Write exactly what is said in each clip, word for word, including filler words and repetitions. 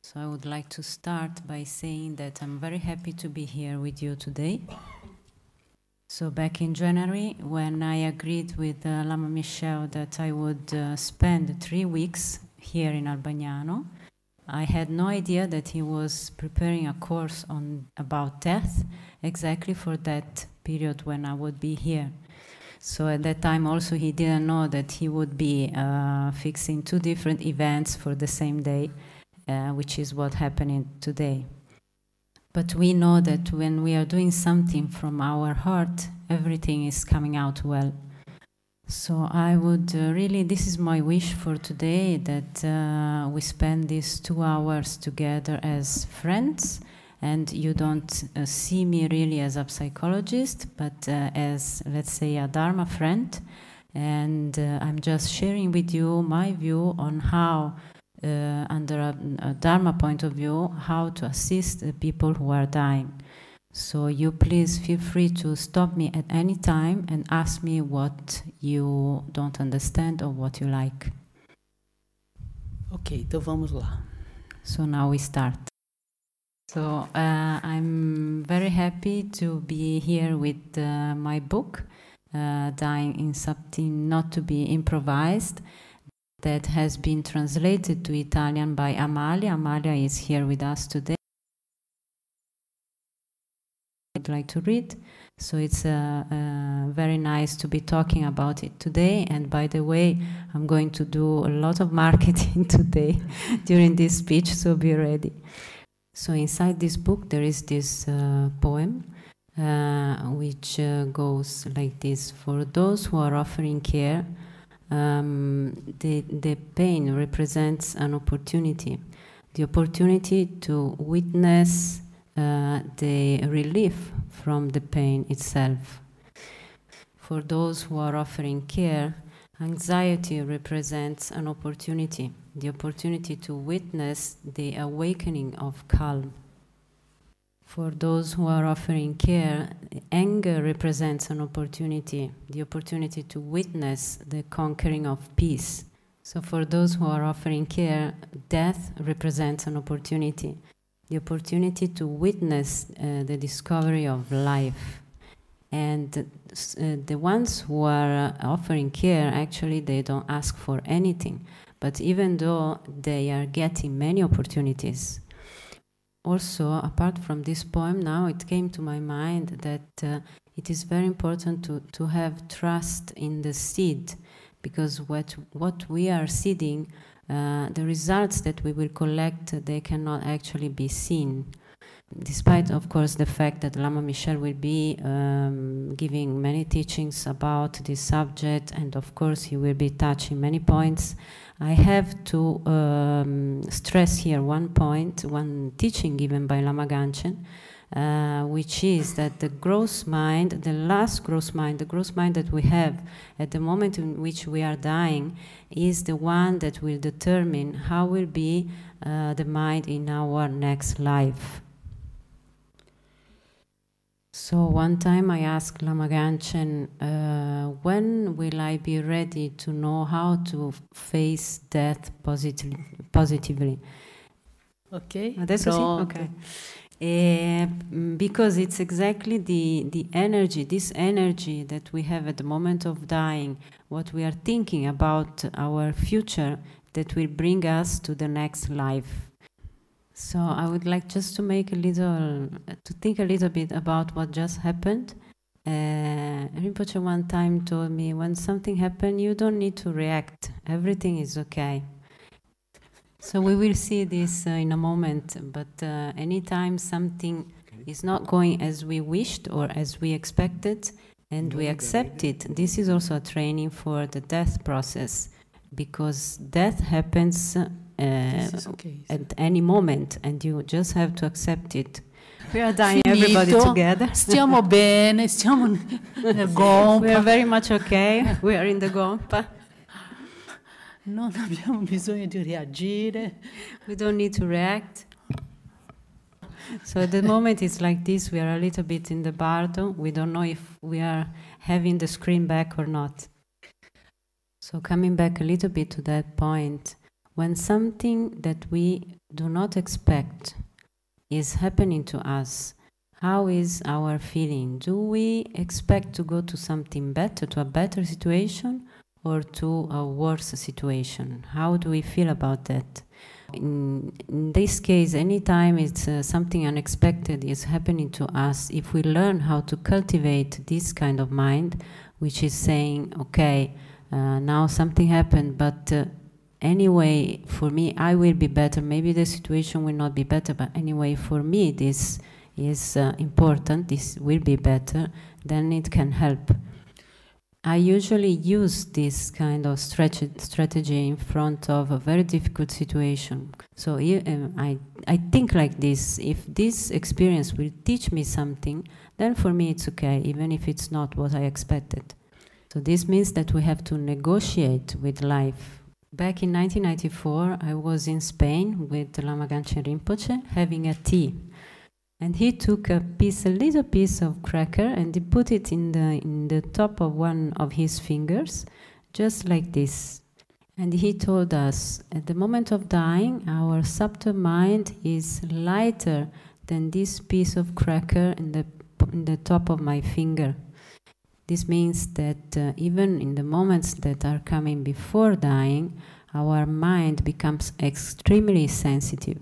So I would like to start by saying that I'm very happy to be here with you today. So back in January, when I agreed with uh, Lama Michel that I would uh, spend three weeks here in Albagnano, I had no idea that he was preparing a course on about death exactly for that period when I would be here. So at that time also he didn't know that he would be uh, fixing two different events for the same day, uh, which is what happening today. But we know that when we are doing something from our heart, everything is coming out well. So I would uh, really, this is my wish for today, that uh, we spend these two hours together as friends, and you don't uh, see me really as a psychologist, but uh, as, let's say, a Dharma friend. And uh, I'm just sharing with you my view on how, uh, under a, a Dharma point of view, how to assist the people who are dying. So you please feel free to stop me at any time and ask me what you don't understand or what you like. Ok, então vamos lá. So now we start. So uh, I'm very happy to be here with uh, my book, uh, Dying in Something Not to Be Improvised, that has been translated to Italian by Amalia. Amalia is here with us today. I'd like to read. So it's uh, uh, very nice to be talking about it today. And by the way, I'm going to do a lot of marketing today during this speech, so be ready. So inside this book there is this uh, poem uh, which uh, goes like this. For those who are offering care, um, the, the pain represents an opportunity. The opportunity to witness uh, the relief from the pain itself. For those who are offering care, anxiety represents an opportunity, the opportunity to witness the awakening of calm. For those who are offering care, anger represents an opportunity, the opportunity to witness the conquering of peace. So for those who are offering care, death represents an opportunity, the opportunity to witness uh, the discovery of life. And uh, the ones who are uh, offering care, actually, they don't ask for anything. But even though they are getting many opportunities. Also, apart from this poem, now it came to my mind that uh, it is very important to, to have trust in the seed, because what, what we are seeding, uh, the results that we will collect, they cannot actually be seen. Despite, of course, the fact that Lama Michel will be um, giving many teachings about this subject, and of course he will be touching many points, I have to um, stress here one point, one teaching given by Lama Ganchen, uh, which is that the gross mind, the last gross mind, the gross mind that we have at the moment in which we are dying, is the one that will determine how will be uh, the mind in our next life. So one time I asked Lama Ganchen, uh, when will I be ready to know how to face death positively? positively? Ok, Adesso sì? Okay. Uh, because it's exactly the, the energy, this energy that we have at the moment of dying, what we are thinking about our future, that will bring us to the next life. So I would like just to make a little, to think a little bit about what just happened. Uh, Rinpoche one time told me, when something happened, you don't need to react. Everything is okay. So we will see this uh, in a moment, but uh, anytime something is not going as we wished or as we expected, and we accept it, this is also a training for the death process, because death happens Uh, okay. at any moment, and you just have to accept it. We are dying, everybody together. Stiamo bene, stiamo nel gompa. We are very much okay. We are in the gompa. Non abbiamo bisogno di reagire. We don't need to react. So at the moment it's like this. We are a little bit in the bardo. We don't know if we are having the screen back or not. So coming back a little bit to that point, when something that we do not expect is happening to us, how is our feeling? Do we expect to go to something better, to a better situation, or to a worse situation? How do we feel about that? In, in this case, anytime it's uh, something unexpected is happening to us, if we learn how to cultivate this kind of mind, which is saying, okay, uh, now something happened, but uh, anyway, for me, I will be better. Maybe the situation will not be better, but anyway, for me, this is uh, important, this will be better, then it can help. I usually use this kind of strategy in front of a very difficult situation. So um, I, I think like this: if this experience will teach me something, then for me it's okay, even if it's not what I expected. So this means that we have to negotiate with life. Back in nineteen ninety-four, I was in Spain with Lama Ganchen Rinpoche having a tea. And he took a piece, a little piece of cracker, and he put it in the, in the top of one of his fingers, just like this. And he told us, at the moment of dying, our subtle mind is lighter than this piece of cracker in the, in the top of my finger. This means that uh, even in the moments that are coming before dying, our mind becomes extremely sensitive.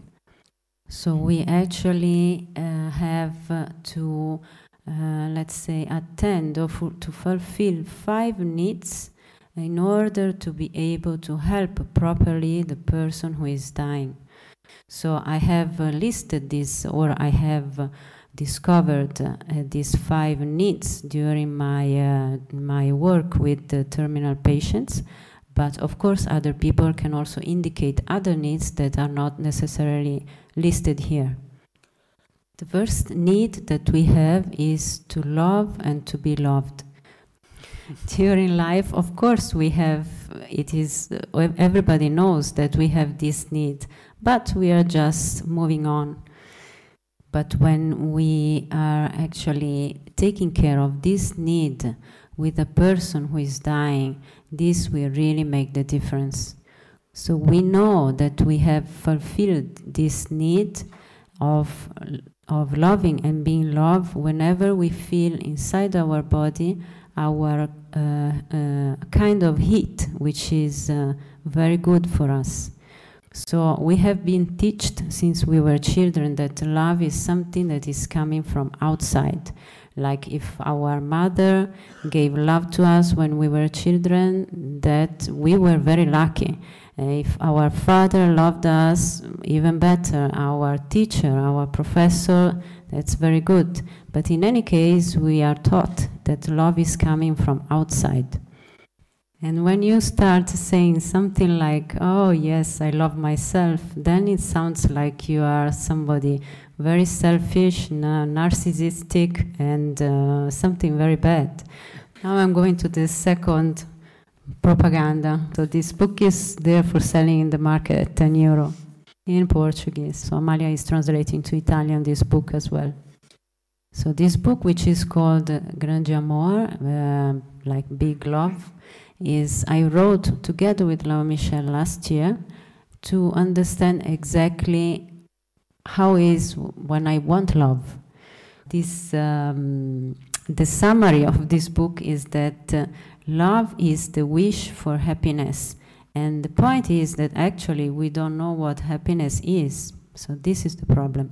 So we actually uh, have uh, to, uh, let's say, attend or to fulfill five needs in order to be able to help properly the person who is dying. So I have uh, listed this, or I have uh, discovered uh, these five needs during my, uh, my work with the terminal patients. But of course, other people can also indicate other needs that are not necessarily listed here. The first need that we have is to love and to be loved. During life, of course, we have, it is, uh, everybody knows that we have this need, but we are just moving on. But when we are actually taking care of this need with a person who is dying, this will really make the difference. So we know that we have fulfilled this need of, of loving and being loved whenever we feel inside our body our uh, uh, kind of heat, which is uh, very good for us. So we have been taught since we were children that love is something that is coming from outside. Like if our mother gave love to us when we were children, that we were very lucky. If our father loved us, even better. Our teacher, our professor, that's very good. But in any case, we are taught that love is coming from outside. And when you start saying something like, oh yes, I love myself, then it sounds like you are somebody very selfish, narcissistic, and uh, something very bad. Now I'm going to the second propaganda. So this book is there for selling in the market at ten euro in Portuguese. So Amalia is translating to Italian this book as well. So this book, which is called Grande Amor, uh, like Big Love, is I wrote together with Lama Michel last year to understand exactly how is when I want love. This, um, the summary of this book is that uh, love is the wish for happiness. And the point is that actually we don't know what happiness is. So this is the problem.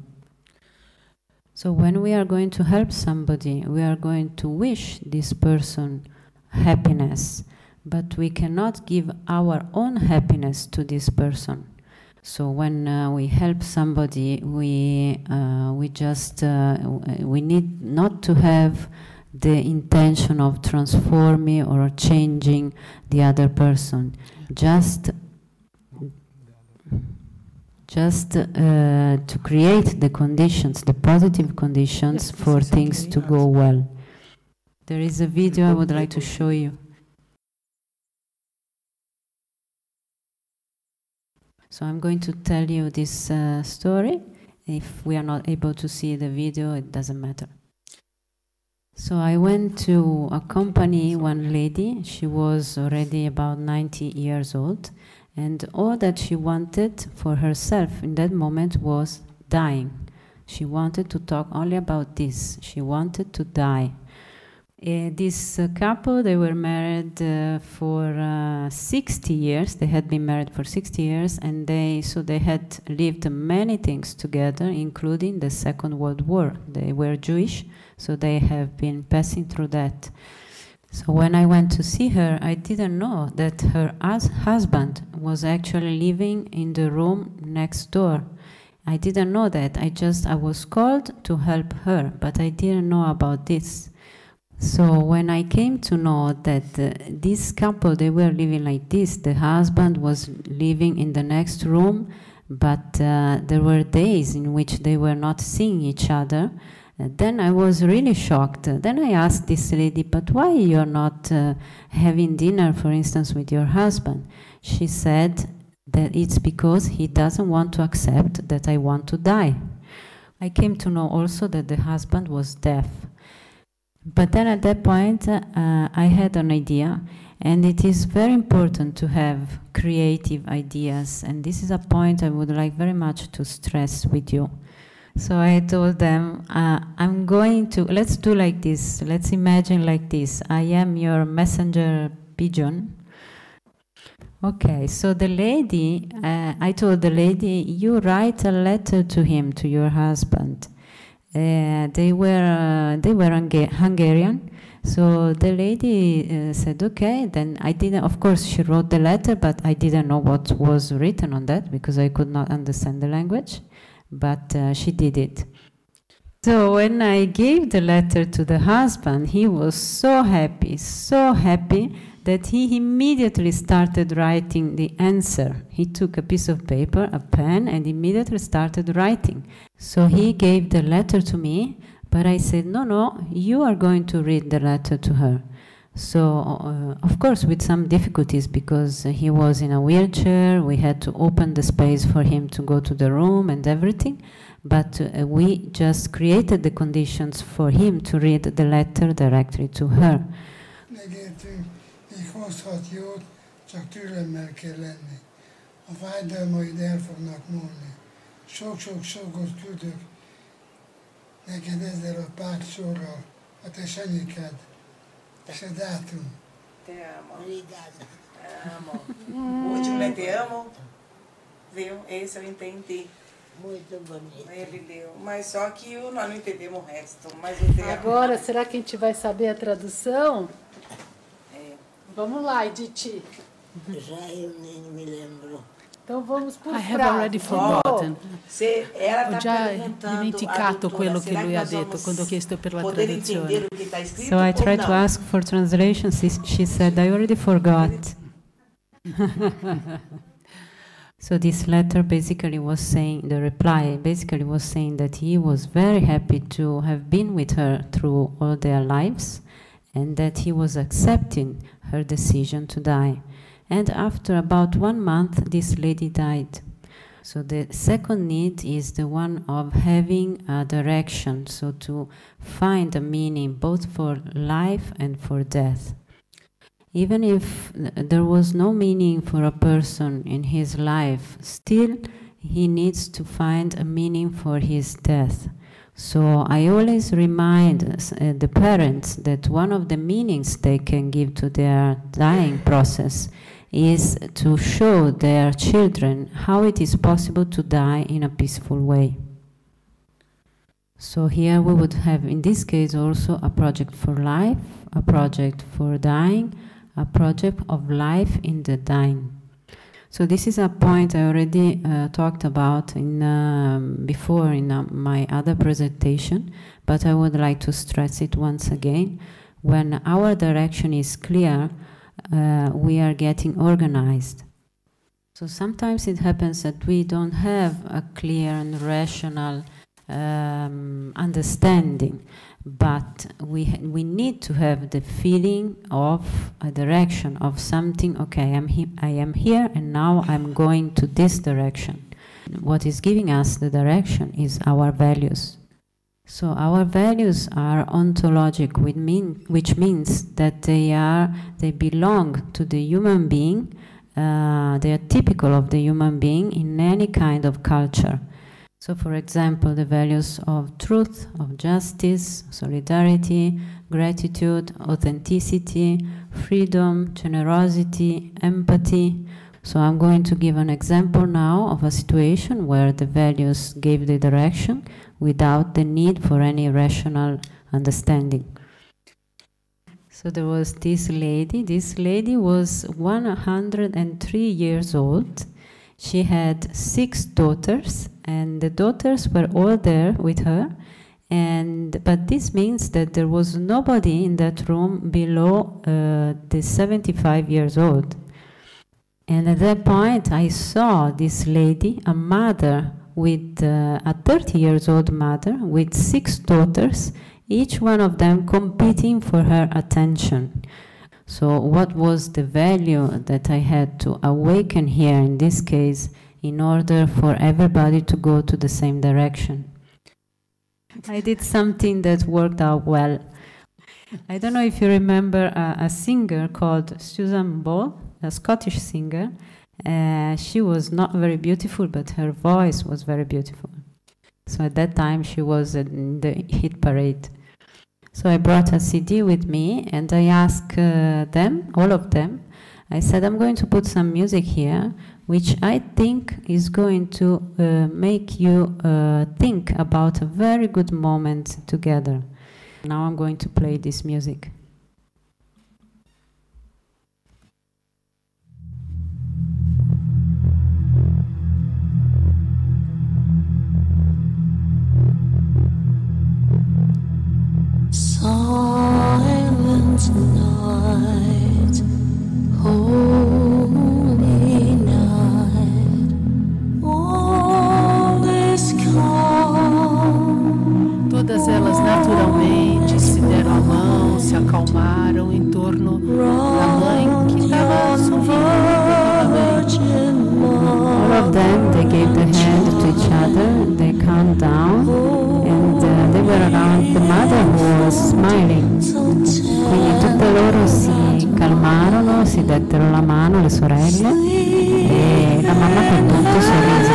So when we are going to help somebody, we are going to wish this person happiness, but we cannot give our own happiness to this person. So when uh, we help somebody, we uh, we just uh, we need not to have the intention of transforming or changing the other person. Just just uh, to create the conditions, the positive conditions yes, for things to go well. There is a video I would like to show you. So I'm going to tell you this uh, story. If we are not able to see the video, it doesn't matter. So I went to accompany one lady. She was already about ninety years old, And all that she wanted for herself in that moment was dying. She wanted to talk only about this. She wanted to die. Uh, this uh, couple, they were married uh, for uh, sixty years. They had been married for sixty years, and they so they had lived many things together, including the Second World War. They were Jewish, so they have been passing through that. So when I went to see her, I didn't know that her hus husband was actually living in the room next door. I didn't know that. I just I was called to help her, but I didn't know about this. So when I came to know that uh, this couple, they were living like this, the husband was living in the next room, but uh, there were days in which they were not seeing each other, uh, then I was really shocked. Uh, then I asked this lady, but why you're not uh, having dinner, for instance, with your husband? She said that it's because he doesn't want to accept that I want to die. I came to know also that the husband was deaf. But then at that point, uh, I had an idea, and it is very important to have creative ideas, and this is a point I would like very much to stress with you. So I told them, uh, I'm going to, let's do like this, let's imagine like this, I am your messenger pigeon. Okay, so the lady, uh, I told the lady, you write a letter to him, to your husband. Uh, they were uh, they were Hunga Hungarian, so the lady uh, said, okay. Then I didn't, of course, she wrote the letter, but I didn't know what was written on that because I could not understand the language. But uh, she did it. So when I gave the letter to the husband, he was so happy, so happy that he immediately started writing the answer. He took a piece of paper, a pen, and immediately started writing. So he gave the letter to me, but I said, no, no, you are going to read the letter to her. So, uh, of course, with some difficulties, because uh, he was in a wheelchair, we had to open the space for him to go to the room and everything, but uh, we just created the conditions for him to read the letter directly to her. Hozhat jót, csak türelemmel kell lenni. A fájdalmaid el fognak múlni. Sok-sok-sokot küldök neked ezzel a pár sorral, a te sanyikád, és a dátum. Te amo. Te amo. Último, te amo. Viu? Esse eu entendi. Muito bonito. Ele leu. Mas só que nós não entendemos o resto. Mas eu te amo. Agora, será que a gente vai saber a tradução? Vamos lá, Edith. Já eu nem me lembro. Então vamos por I have already forgotten. Se ela Ho già dimenticato quello che lui ha detto quando ho chiesto per la traduzione. So I tried to ask for translation. She said, I already forgot. So this letter basically was saying, the reply basically was saying that he was very happy to have been with her through all their lives, and that he was accepting her decision to die. And after about one month, this lady died. So the second need is the one of having a direction, so to find a meaning both for life and for death. Even if there was no meaning for a person in his life, still he needs to find a meaning for his death. So I always remind uh, the parents that one of the meanings they can give to their dying process is to show their children how it is possible to die in a peaceful way. So here we would have, in this case, also a project for life, a project for dying, a project of life in the dying. So this is a point I already uh, talked about in, um, before in uh, my other presentation, but I would like to stress it once again. When our direction is clear, uh, we are getting organized. So sometimes it happens that we don't have a clear and rational um, understanding, but we we need to have the feeling of a direction of something. Okay, I'm he I am here, and now I'm going to this direction. What is giving us the direction is our values. So our values are ontologic, which, mean, which means that they are they belong to the human being uh, they are typical of the human being in any kind of culture. So, for example, the values of truth, of justice, solidarity, gratitude, authenticity, freedom, generosity, empathy. So I'm going to give an example now of a situation where the values gave the direction without the need for any rational understanding. So there was this lady. This lady was one hundred three years old. She had six daughters, and the daughters were all there with her. And but this means that there was nobody in that room below uh, the seventy-five years old. And at that point, I saw this lady, a mother with uh, a thirty years old mother with six daughters, each one of them competing for her attention. So what was the value that I had to awaken here in this case in order for everybody to go to the same direction? I did something that worked out well. I don't know if you remember a, a singer called Susan Ball, a Scottish singer. Uh, she was not very beautiful, but her voice was very beautiful. So at that time she was in the hit parade. So I brought a C D with me and I asked uh, them, all of them, I said, I'm going to put some music here, which I think is going to uh, make you uh, think about a very good moment together. Now I'm going to play this music. Silent night, holy night, all is calm. Todas elas naturalmente se deram a mão, se acalmaram em torno da mãe que estava sorrindo. All of them, they gave the hand to each other, they calmed down, and uh, they were around the mother who was smiling. Quindi tutte loro si calmarono, si dettero la mano, le sorelle, e la mamma per tutto sorrise.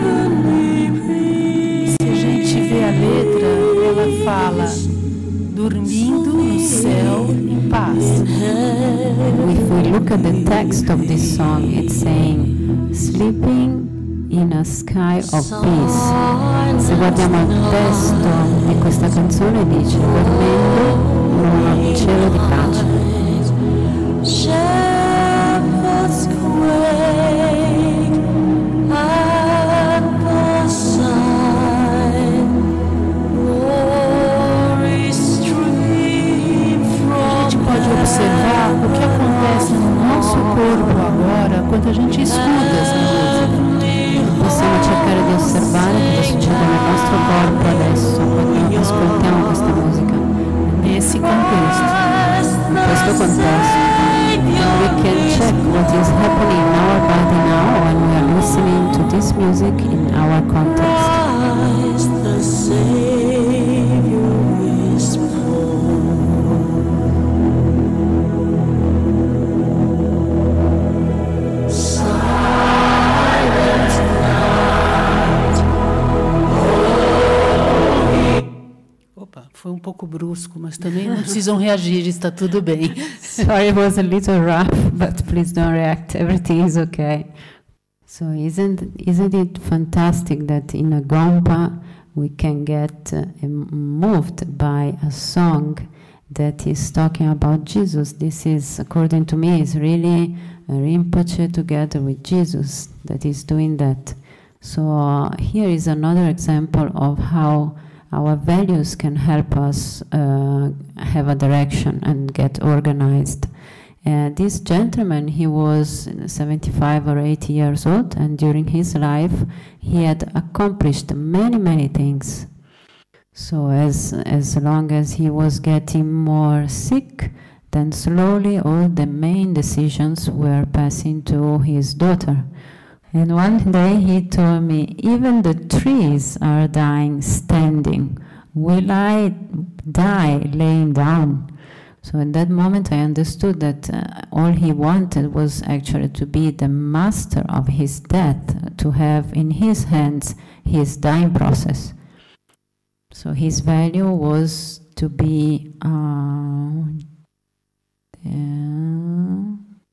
Se a gente vê a letra, ela fala, dormindo no céu em paz. If we look at the text of this song, it's saying, sleeping in a sky of peace. Se guardiamo il testo di questa canzone dice, dormendo in un cielo di pace. Shepherds quake at the sign, glory stream from A gente pode observar o que acontece no nosso corpo agora quando a gente escuta essa música. Possiamo cercare di osservare cosa succede nel nostro corpo adesso quando ascoltiamo questa musica. Nesse contexto. In questo contesto. We can check what is happening in our body now when we are listening to this music in our context. the Savior is born. Silent night, Opa, foi um pouco brusco, mas também não precisam reagir, está tudo bem. Sorry, it was a little rough, but please don't react. Everything is okay. So isn't isn't it fantastic that in a Gompa we can get uh, moved by a song that is talking about Jesus? This is, according to me, is really a Rinpoche together with Jesus that is doing that. So uh, here is another example of how our values can help us uh, have a direction and get organized. Uh, this gentleman, he was seventy-five or eighty years old, and during his life he had accomplished many, many things. So as, as long as he was getting more sick, then slowly all the main decisions were passing to his daughter. And one day he told me, even the trees are dying standing. Will I die laying down? So in that moment I understood that uh, all he wanted was actually to be the master of his death, to have in his hands his dying process. So his value was to be uh, uh,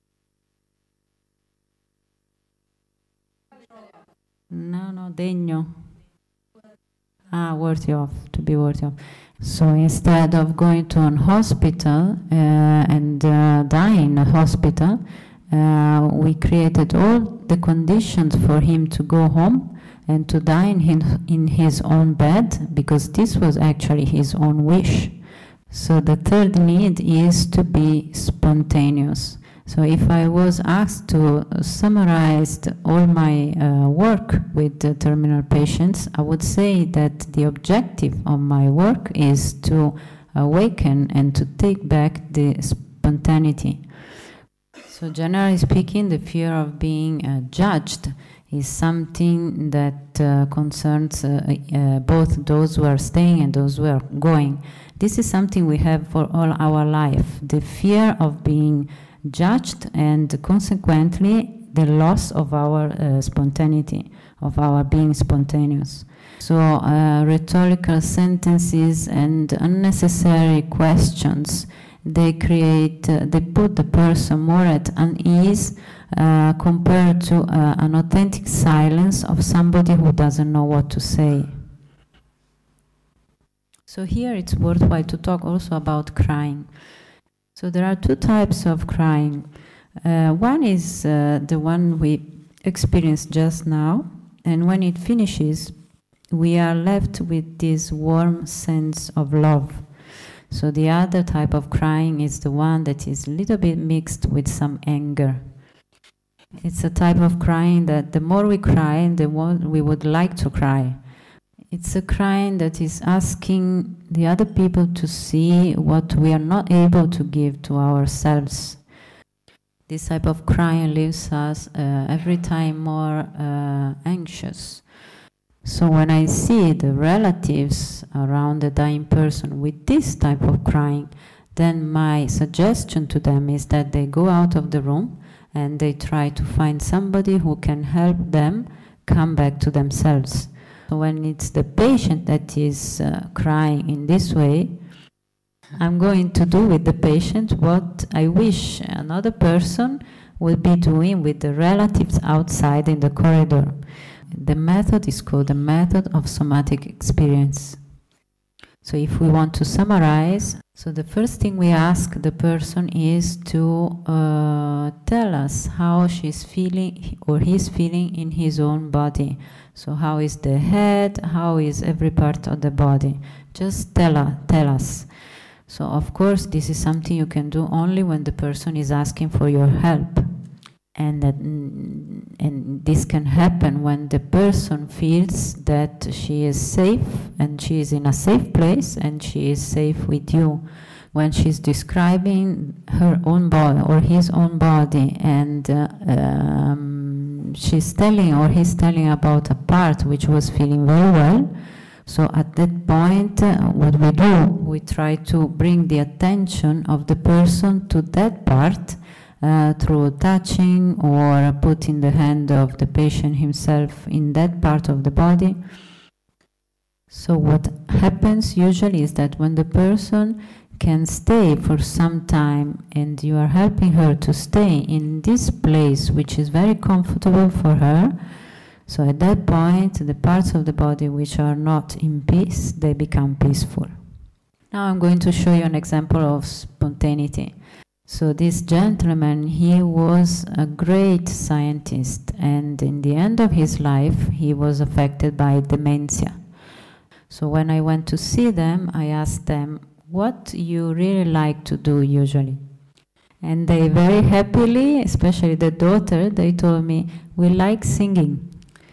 no, no, degno. Ah, worthy of, to be worthy of. So instead of going to an hospital uh, and uh, dying in a hospital, uh, we created all the conditions for him to go home and to die in his, in his own bed, because this was actually his own wish. So the third need is to be spontaneous. So if I was asked to summarize all my uh, work with the terminal patients, I would say that the objective of my work is to awaken and to take back the spontaneity. So generally speaking, the fear of being uh, judged is something that uh, concerns uh, uh, both those who are staying and those who are going. This is something we have for all our life, the fear of being judged and consequently the loss of our uh, spontaneity, of our being spontaneous. So uh, rhetorical sentences and unnecessary questions, they create, uh, they put the person more at unease uh, compared to uh, an authentic silence of somebody who doesn't know what to say. So here it's worthwhile to talk also about crying. So there are two types of crying. Uh, one is uh, the one we experienced just now, and when it finishes, we are left with this warm sense of love. So the other type of crying is the one that is a little bit mixed with some anger. It's a type of crying that the more we cry, the more we would like to cry. It's a crying that is asking the other people to see what we are not able to give to ourselves. This type of crying leaves us uh, every time more uh, anxious. So when I see the relatives around the dying person with this type of crying, then my suggestion to them is that they go out of the room and they try to find somebody who can help them come back to themselves. So when it's the patient that is uh, crying in this way, I'm going to do with the patient what I wish another person would be doing with the relatives outside in the corridor. The method is called the method of somatic experience. So if we want to summarize, so the first thing we ask the person is to uh, tell us how she's feeling or he's feeling in his own body. So how is the head, how is every part of the body? Just tell, uh, tell us. So of course this is something you can do only when the person is asking for your help. And, that, and this can happen when the person feels that she is safe and she is in a safe place and she is safe with you. When she's describing her own body or his own body and uh, um, she's telling or he's telling about a part which was feeling very well, so at that point uh, what we do, we try to bring the attention of the person to that part Uh, through touching or putting the hand of the patient himself in that part of the body. So what happens usually is that when the person can stay for some time and you are helping her to stay in this place which is very comfortable for her, so at that point the parts of the body which are not in peace, they become peaceful. Now I'm going to show you an example of spontaneity. So this gentleman, he was a great scientist, and in the end of his life he was affected by dementia. So when I went to see them, I asked them, what you really like to do usually? And they very happily, especially the daughter, they told me, we like singing.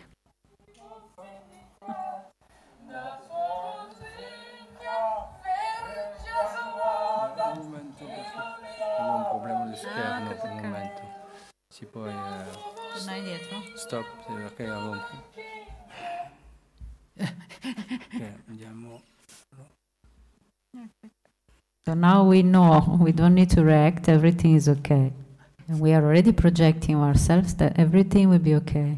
Schermo per un momento. Si può eh, Tornare dietro? stop perché avevo un po'. Ok, andiamo. So now we know, we don't need to react, everything is okay. And we are already projecting ourselves that everything will be okay.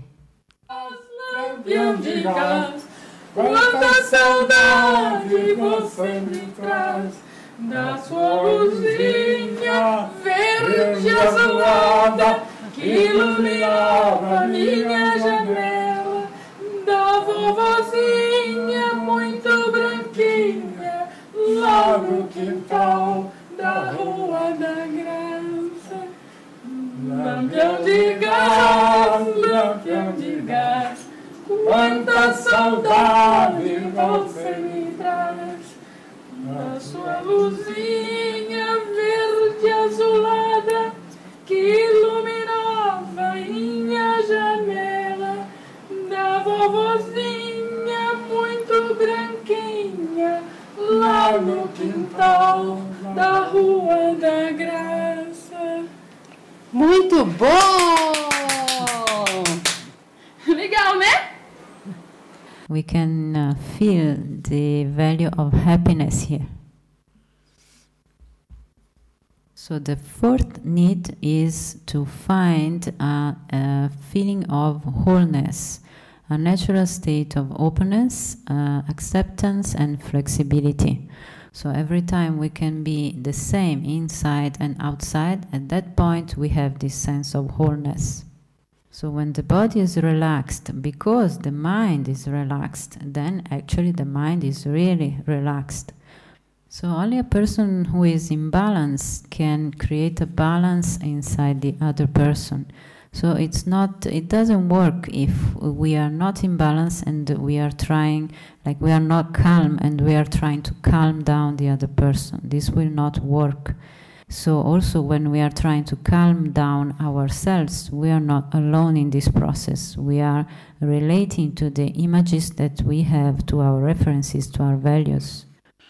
Quanta saudade você me traz da sua luzinha verde azulada que iluminava minha janela, da vovozinha muito branquinha lá no quintal da Rua da Graça. Lampião de gás, lampião de gás, quanta saudade você me traz da sua luzinha verde azulada que iluminava minha janela, da vovozinha muito branquinha lá no quintal da Rua da Graça. Muito bom! Legal, né? We can uh, feel the value of happiness here. So the fourth need is to find a, a feeling of wholeness, a natural state of openness, uh, acceptance and flexibility. So every time we can be the same inside and outside, at that point we have this sense of wholeness. So when the body is relaxed, because the mind is relaxed, then actually the mind is really relaxed. So only a person who is in balance can create a balance inside the other person. So it's not, it doesn't work if we are not in balance and we are trying, like we are not calm and we are trying to calm down the other person. This will not work. So also when we are trying to calm down ourselves, we are not alone in this process. We are relating to the images that we have, to our references, to our values.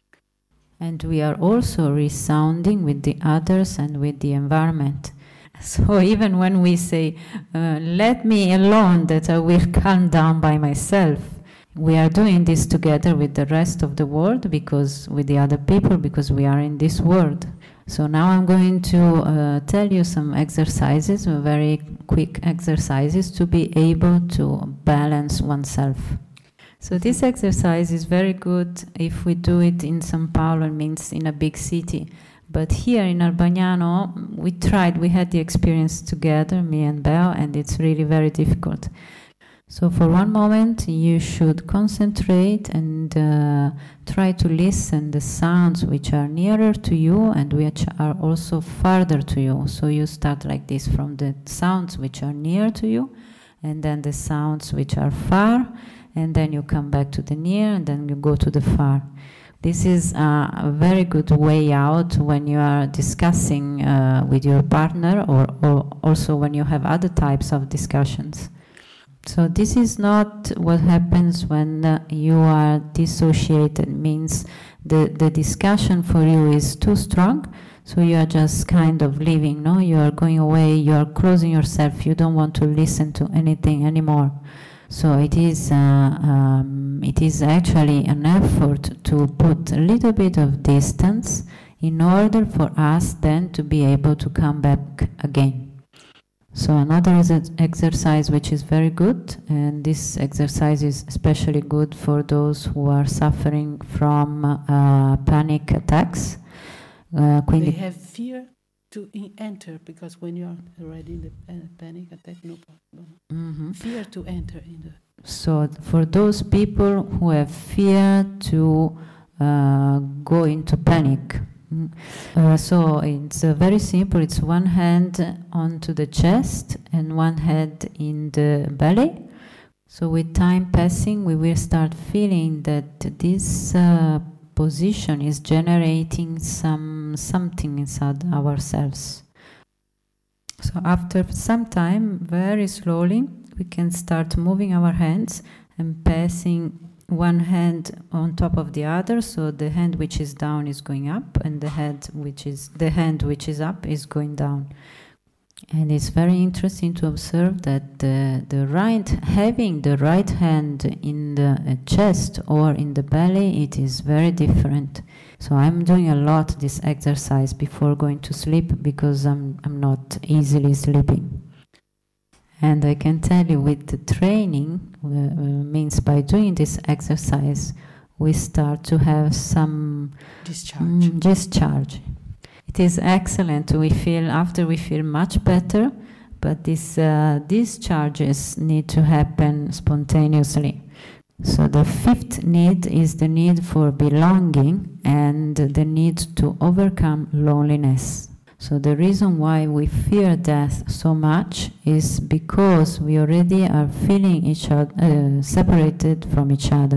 And we are also resounding with the others and with the environment. So even when we say, uh, let me alone that I will calm down by myself, we are doing this together with the rest of the world, because with the other people, because we are in this world. So now I'm going to uh, tell you some exercises, very quick exercises to be able to balance oneself. So this exercise is very good if we do it in São Paulo, it means in a big city. But here in Arbagnano, we tried, we had the experience together, me and Belle, and it's really very difficult. So for one moment you should concentrate and uh, try to listen the sounds which are nearer to you and which are also farther to you. So you start like this from the sounds which are near to you, and then the sounds which are far, and then you come back to the near, and then you go to the far. This is uh, a very good way out when you are discussing uh, with your partner, or, or also when you have other types of discussions. So this is not what happens when uh, you are dissociated, means the, the discussion for you is too strong, so you are just kind of leaving, no? You are going away, you are closing yourself, you don't want to listen to anything anymore. So it is, uh, um, it is actually an effort to put a little bit of distance in order for us then to be able to come back again. So another is an exercise which is very good, and this exercise is especially good for those who are suffering from uh, panic attacks. Uh, They have fear to in enter, because when you are already in the pa- panic attack, no problem. mm-hmm. Fear to enter in the... So for those people who have fear to uh, go into panic. Uh, so it's uh, very simple. It's one hand onto the chest and one head in the belly. So with time passing, we will start feeling that this uh, position is generating some something inside ourselves. So after some time, very slowly, we can start moving our hands and passing one hand on top of the other, so the hand which is down is going up, and the head which is the hand which is up is going down. And it's very interesting to observe that the, the right, having the right hand in the uh, chest or in the belly, it is very different. So I'm doing a lot this exercise before going to sleep because I'm, I'm not easily sleeping. And I can tell you with the training, uh, means by doing this exercise, we start to have some Discharge. Mm, discharge. It is excellent. We feel, after we feel much better, but these uh, discharges need to happen spontaneously. So the fifth need is the need for belonging and the need to overcome loneliness. So the reason why we fear death so much is because we already are feeling each other, uh, separated from each other.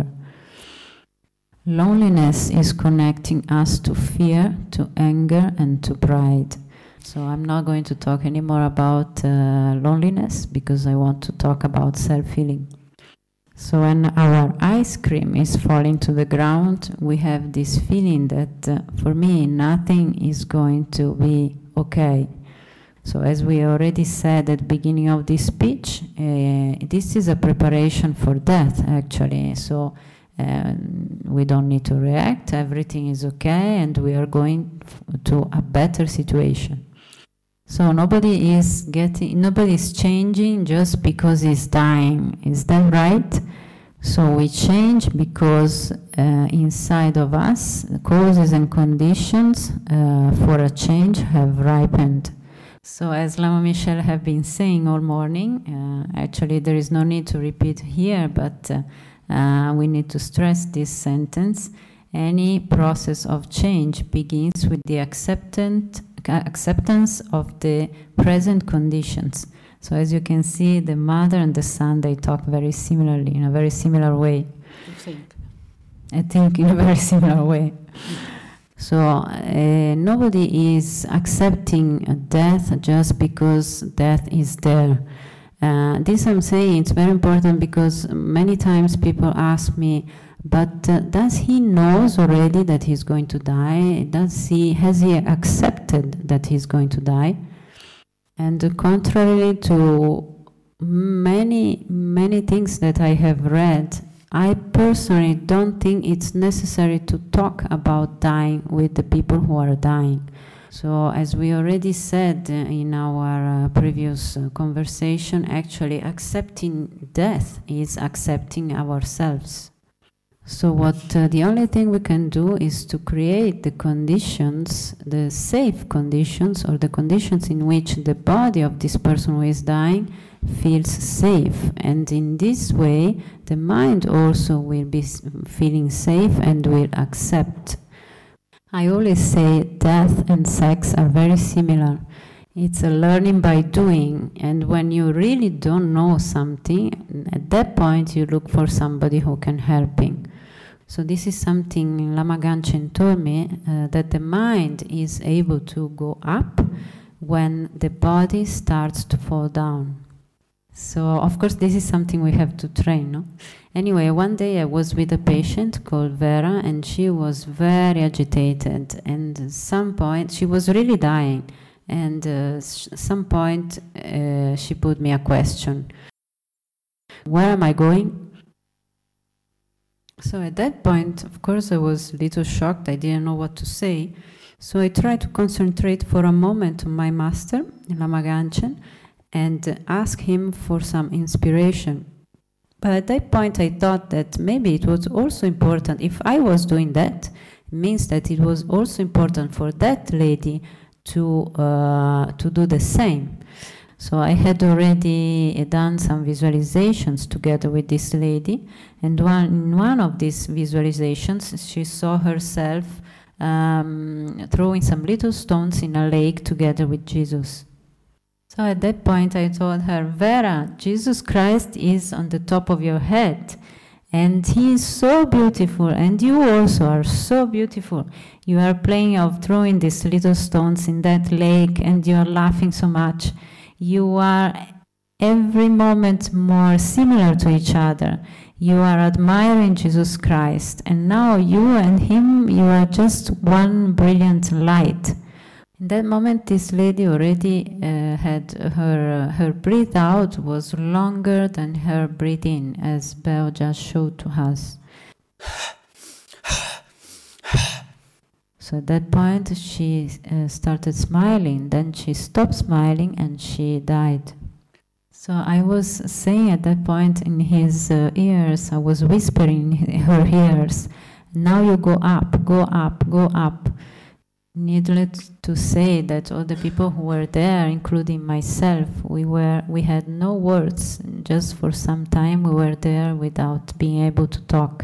Loneliness is connecting us to fear, to anger, and to pride. So I'm not going to talk anymore about uh, loneliness because I want to talk about self-healing. So when our ice cream is falling to the ground, we have this feeling that uh, for me nothing is going to be okay. So as we already said at the beginning of this speech, uh, this is a preparation for death actually. So uh, we don't need to react, everything is okay, and we are going to a better situation. So nobody is getting, nobody is changing just because he's dying. Is that right? So we change because uh, inside of us, the causes and conditions uh, for a change have ripened. So as Lama Michelle have been saying all morning, uh, actually there is no need to repeat here, but uh, uh, we need to stress this sentence. Any process of change begins with the acceptance acceptance of the present conditions. So as you can see, the mother and the son, they talk very similarly, in a very similar way. You think? I think in a very similar way. So uh, nobody is accepting death just because death is there. Uh, this I'm saying, it's very important because many times people ask me, but uh, does he knows already that he's going to die? Does he, has he accepted that he's going to die? And uh, contrary to many, many things that I have read, I personally don't think it's necessary to talk about dying with the people who are dying. So as we already said uh, in our uh, previous uh, conversation, actually accepting death is accepting ourselves. So what uh, the only thing we can do is to create the conditions, the safe conditions, or the conditions in which the body of this person who is dying feels safe. And in this way, the mind also will be feeling safe and will accept. I always say death and sex are very similar. It's a learning by doing, and when you really don't know something, at that point you look for somebody who can help you. So this is something Lama Ganchen told me, uh, that the mind is able to go up when the body starts to fall down. So of course this is something we have to train, no? Anyway, one day I was with a patient called Vera, and she was very agitated, and at some point she was really dying, and uh, at some point uh, she put me a question: where am I going? So at that point, of course, I was a little shocked. I didn't know what to say. So I tried to concentrate for a moment on my master, Lama Ganchen, and ask him for some inspiration. But at that point, I thought that maybe it was also important, if I was doing that, it means that it was also important for that lady to, uh, to do the same. So I had already done some visualizations together with this lady, and one, in one of these visualizations, she saw herself um, throwing some little stones in a lake together with Jesus. So at that point I told her, Vera, Jesus Christ is on the top of your head, and he is so beautiful, and you also are so beautiful. You are playing of throwing these little stones in that lake, and you are laughing so much. You are every moment more similar to each other. You are admiring Jesus Christ, and now you and him, you are just one brilliant light. In that moment, this lady already uh, had her, her breath out was longer than her breath in, as Beo just showed to us. So at that point, she uh, started smiling, then she stopped smiling and she died. So I was saying at that point in his uh, ears, I was whispering in her ears, now you go up, go up, go up. Needless to say that all the people who were there, including myself, we were we had no words. Just for some time we were there without being able to talk.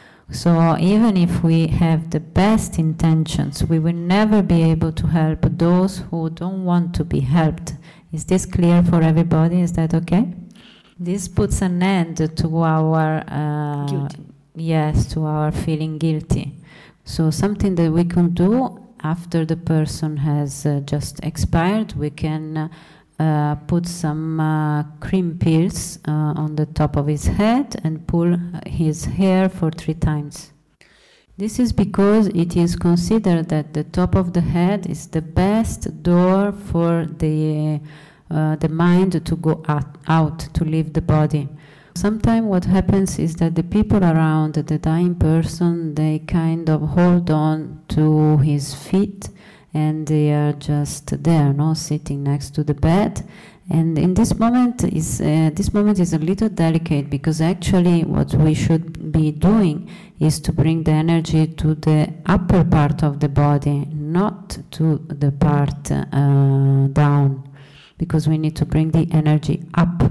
So even if we have the best intentions, we will never be able to help those who don't want to be helped. Is this clear for everybody? Is that okay? This puts an end to our uh, guilty. Yes, to our feeling guilty. So something that we can do after the person has uh, just expired, we can uh, put some uh, cream pills uh, on the top of his head and pull his hair for three times. This is because it is considered that the top of the head is the best door for the, uh, the mind to go out, out, to leave the body. Sometimes what happens is that the people around the dying person, they kind of hold on to his feet and they are just there, no, sitting next to the bed. And in this moment is uh, this moment is a little delicate, because actually what we should be doing is to bring the energy to the upper part of the body, not to the part uh, down, because we need to bring the energy up.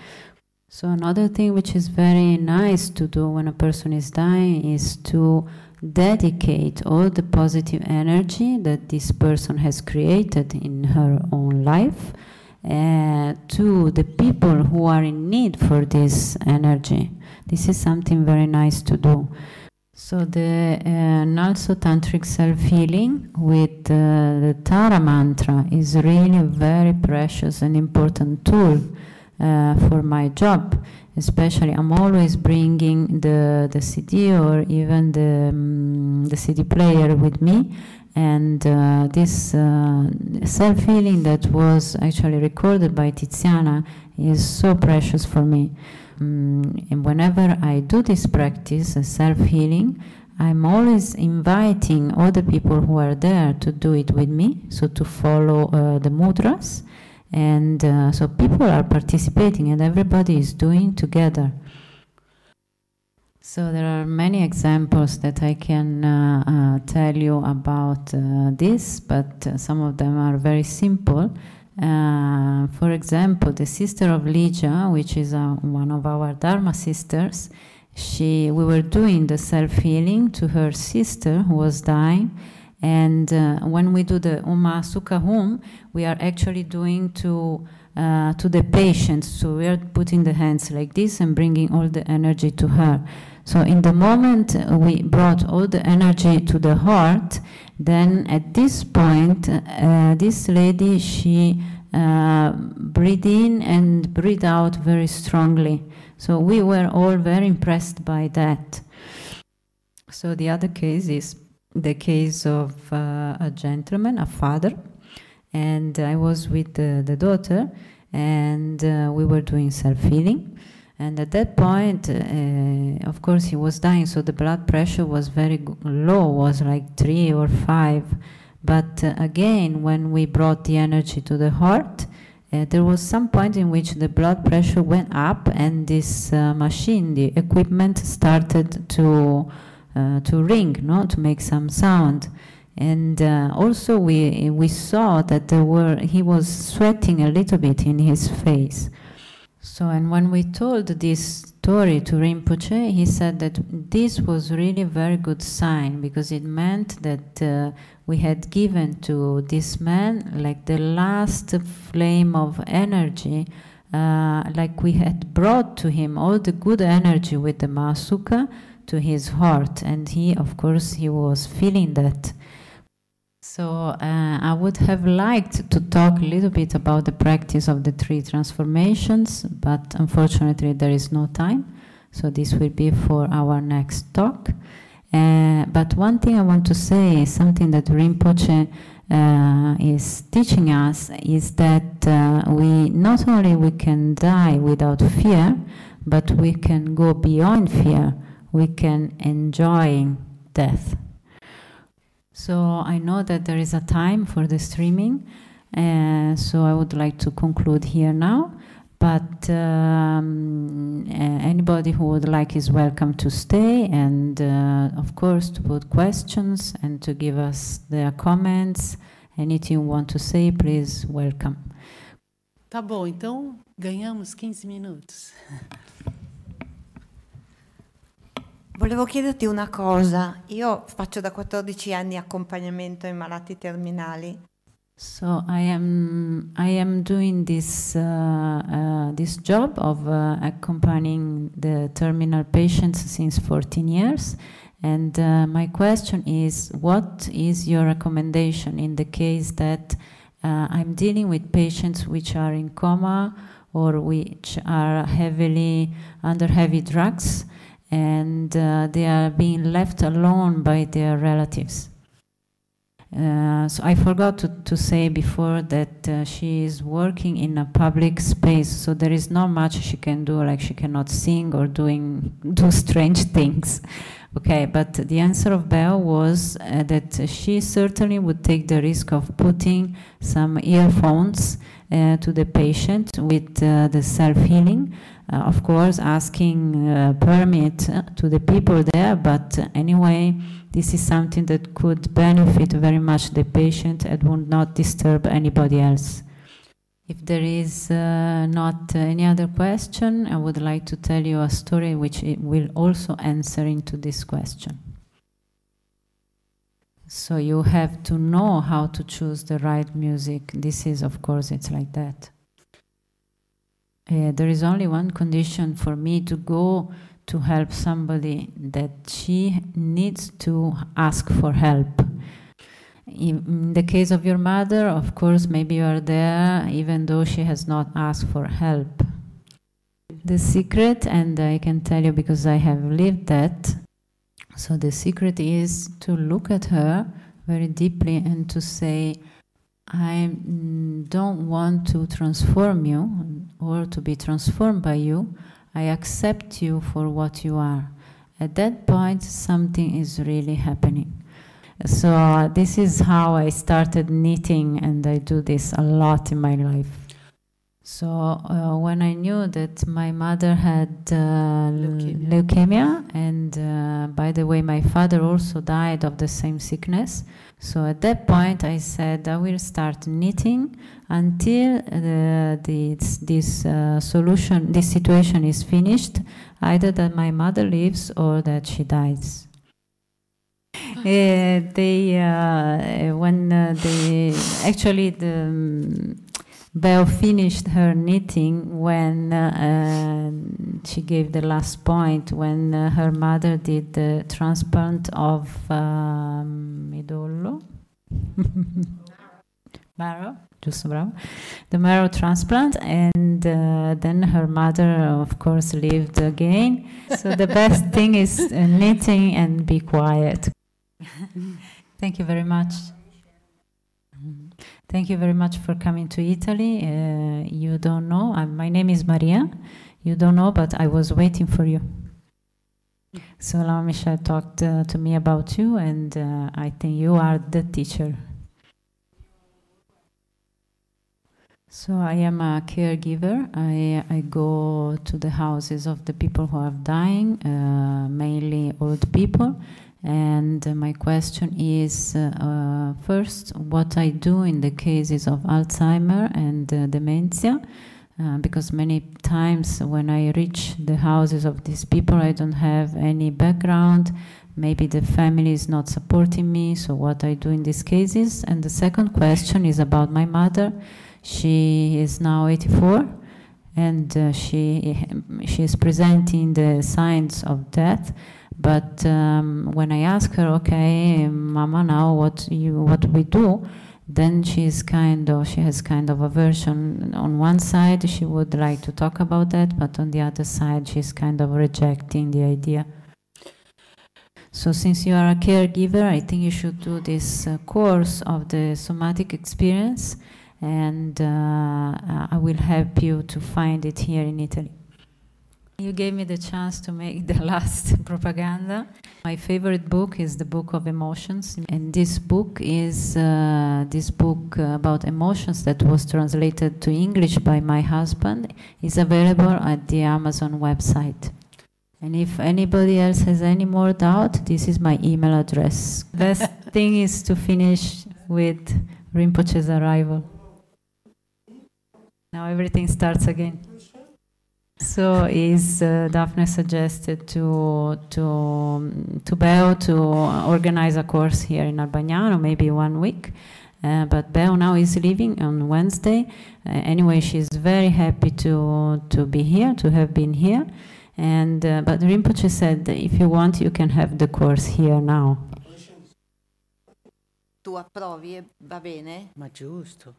So another thing which is very nice to do when a person is dying is to dedicate all the positive energy that this person has created in her own life uh, to the people who are in need for this energy. This is something very nice to do. So the uh, Nalso Tantric self-healing with uh, the Tara mantra is really a very precious and important tool Uh, for my job. Especially, I'm always bringing the the C D or even the um, the C D player with me, and uh, this uh, self-healing that was actually recorded by Tiziana is so precious for me. Um, and whenever I do this practice, self-healing, I'm always inviting all the people who are there to do it with me, so to follow uh, the mudras. And uh, so people are participating and everybody is doing together. So there are many examples that I can uh, uh, tell you about uh, this, but uh, some of them are very simple. Uh, for example, the sister of Ligia, which is uh, one of our Dharma sisters, she, we were doing the self-healing to her sister who was dying. And uh, when we do the Uma Sukha Hum, we are actually doing to uh, to the patient. So we are putting the hands like this and bringing all the energy to her. So in the moment we brought all the energy to the heart, then at this point, uh, this lady, she uh, breathed in and breathed out very strongly. So we were all very impressed by that. So the other case is the case of uh, a gentleman, a father, and I was with the, the daughter, and uh, we were doing self-healing. And at that point, uh, of course, he was dying, so the blood pressure was very low, was like three or five. But uh, again, when we brought the energy to the heart, uh, there was some point in which the blood pressure went up, and this uh, machine, the equipment, started to Uh, to ring, no, to make some sound. And uh, also we we saw that there were he was sweating a little bit in his face. So, and when we told this story to Rinpoche, he said that this was really a very good sign, because it meant that uh, we had given to this man like the last flame of energy, uh, like we had brought to him all the good energy with the Mahasukha to his heart, and he, of course, he was feeling that. So uh, I would have liked to talk a little bit about the practice of the three transformations, but unfortunately there is no time, so this will be for our next talk. Uh, but one thing I want to say is something that Rinpoche uh, is teaching us is that uh, we not only we can die without fear, but we can go beyond fear. We can enjoy death. So I know that there is a time for the streaming, uh, so I would like to conclude here now. But um, uh, anybody who would like is welcome to stay, and uh, of course to put questions and to give us their comments. Anything you want to say, please, welcome. Tá bom, então ganhamos quinze minutos. Volevo chiederti una cosa. Io faccio da quattordici anni accompagnamento ai malati terminali. So I am I am doing this uh, uh, this job of uh, accompanying the terminal patients since fourteen years, and uh, my question is, what is your recommendation in the case that uh, I'm dealing with patients which are in coma or which are heavily under heavy drugs, and uh, they are being left alone by their relatives? Uh, so I forgot to, to say before that uh, she is working in a public space, so there is not much she can do, like she cannot sing or doing do strange things. Okay, but the answer of Belle was uh, that she certainly would take the risk of putting some earphones uh, to the patient with uh, the self-healing. Uh, of course, asking uh, permit uh, to the people there, but uh, anyway, this is something that could benefit very much the patient and would not disturb anybody else. If there is uh, not uh, any other question, I would like to tell you a story which it will also answer into this question. So you have to know how to choose the right music. This is, of course, it's like that. Uh, there is only one condition for me to go to help somebody, that she needs to ask for help. In the case of your mother, of course, maybe you are there even though she has not asked for help. The secret, and I can tell you because I have lived that, so the secret is to look at her very deeply and to say, I don't want to transform you or to be transformed by you. I accept you for what you are. At that point, something is really happening. So uh, this is how I started knitting, and I do this a lot in my life. So uh, when I knew that my mother had uh, leukemia. leukemia, and uh, by the way, my father also died of the same sickness. So at that point, I said I will start knitting until uh, this, this uh, solution, this situation is finished, either that my mother lives or that she dies. Uh, they, uh, when uh, they, actually the um, Belle finished her knitting when uh, she gave the last point, when uh, her mother did the transplant of um, midollo, marrow, giusto, bravo, the marrow transplant, and uh, then her mother, of course, lived again. So the best thing is uh, knitting and be quiet. Thank you very much. Thank you very much for coming to Italy. Uh, you don't know, I'm, my name is Maria. You don't know, but I was waiting for you. So Laura Michelle talked uh, to me about you, and uh, I think you are the teacher. So I am a caregiver. I, I go to the houses of the people who are dying, uh, mainly old people. And uh, my question is, uh, uh, first, what I do in the cases of Alzheimer and uh, dementia, uh, because many times when I reach the houses of these people, I don't have any background, maybe the family is not supporting me, so what I do in these cases. And the second question is about my mother. She is now eighty-four, and uh, she, she is presenting the signs of death. But um, when I ask her, okay, Mama, now what you what we do, then she's kind of she has kind of aversion. On one side, she would like to talk about that, but on the other side, she's kind of rejecting the idea. So since you are a caregiver, I think you should do this uh, course of the somatic experience, and uh, uh, I will help you to find it here in Italy. You gave me the chance to make the last propaganda. My favorite book is the Book of Emotions, and this book is uh, this book about emotions that was translated to English by my husband. Is available at the Amazon website. And if anybody else has any more doubt, this is my email address. Best thing is to finish with Rinpoche's arrival. Now everything starts again. So is uh, Daphne suggested to to um, to Beo to organize a course here in Albagnano, maybe one week. Uh, but Beo now is leaving on Wednesday. Uh, anyway, she's very happy to to be here, to have been here. And uh, but Rinpoche said, if you want, you can have the course here now. Tu approvi, va bene? Ma giusto.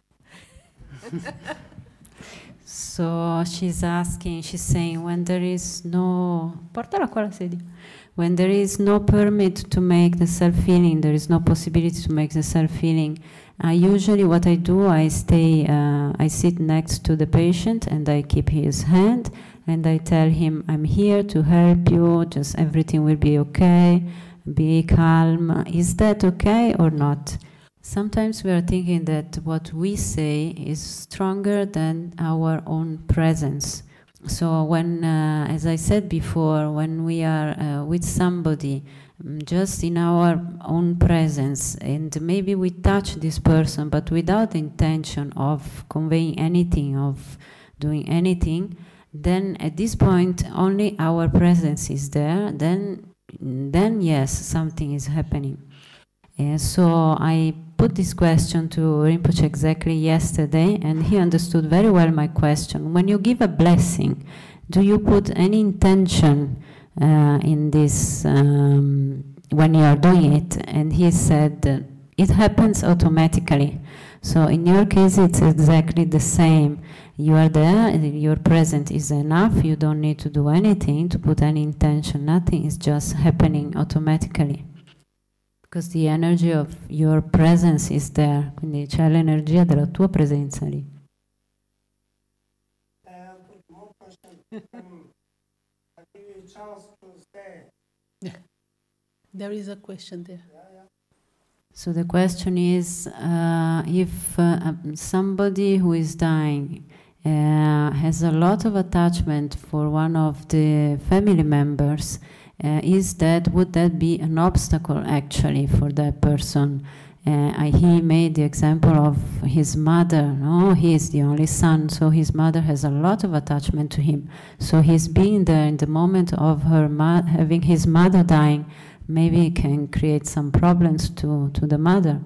So she's asking, she's saying, when there is no, portala qua la sedia. When there is no permit to make the self-healing, there is no possibility to make the self-healing. Uh, usually what I do, I stay, uh, I sit next to the patient and I keep his hand and I tell him, I'm here to help you, just everything will be okay, be calm. Is that okay or not? Sometimes we are thinking that what we say is stronger than our own presence. So when, uh, as I said before, when we are uh, with somebody, um, just in our own presence, and maybe we touch this person, but without the intention of conveying anything, of doing anything, then at this point only our presence is there, then, then yes, something is happening. Uh, so I put this question to Rinpoche exactly yesterday, and he understood very well my question. When you give a blessing, do you put any intention uh, in this um, when you are doing it? And he said, uh, it happens automatically. So in your case, it's exactly the same. You are there, your presence is enough, you don't need to do anything, to put any intention, nothing, is just happening automatically. Because the energy of your presence is there, quindi c'è l'energia della tua presenza lì. There is a question there. So the question is, uh, if uh, somebody who is dying uh, has a lot of attachment for one of the family members, Uh, is that, would that be an obstacle actually for that person? Uh, I, he made the example of his mother. No, he is the only son, so his mother has a lot of attachment to him. So his being there in the moment of her mo- having his mother dying, maybe can create some problems to, to the mother.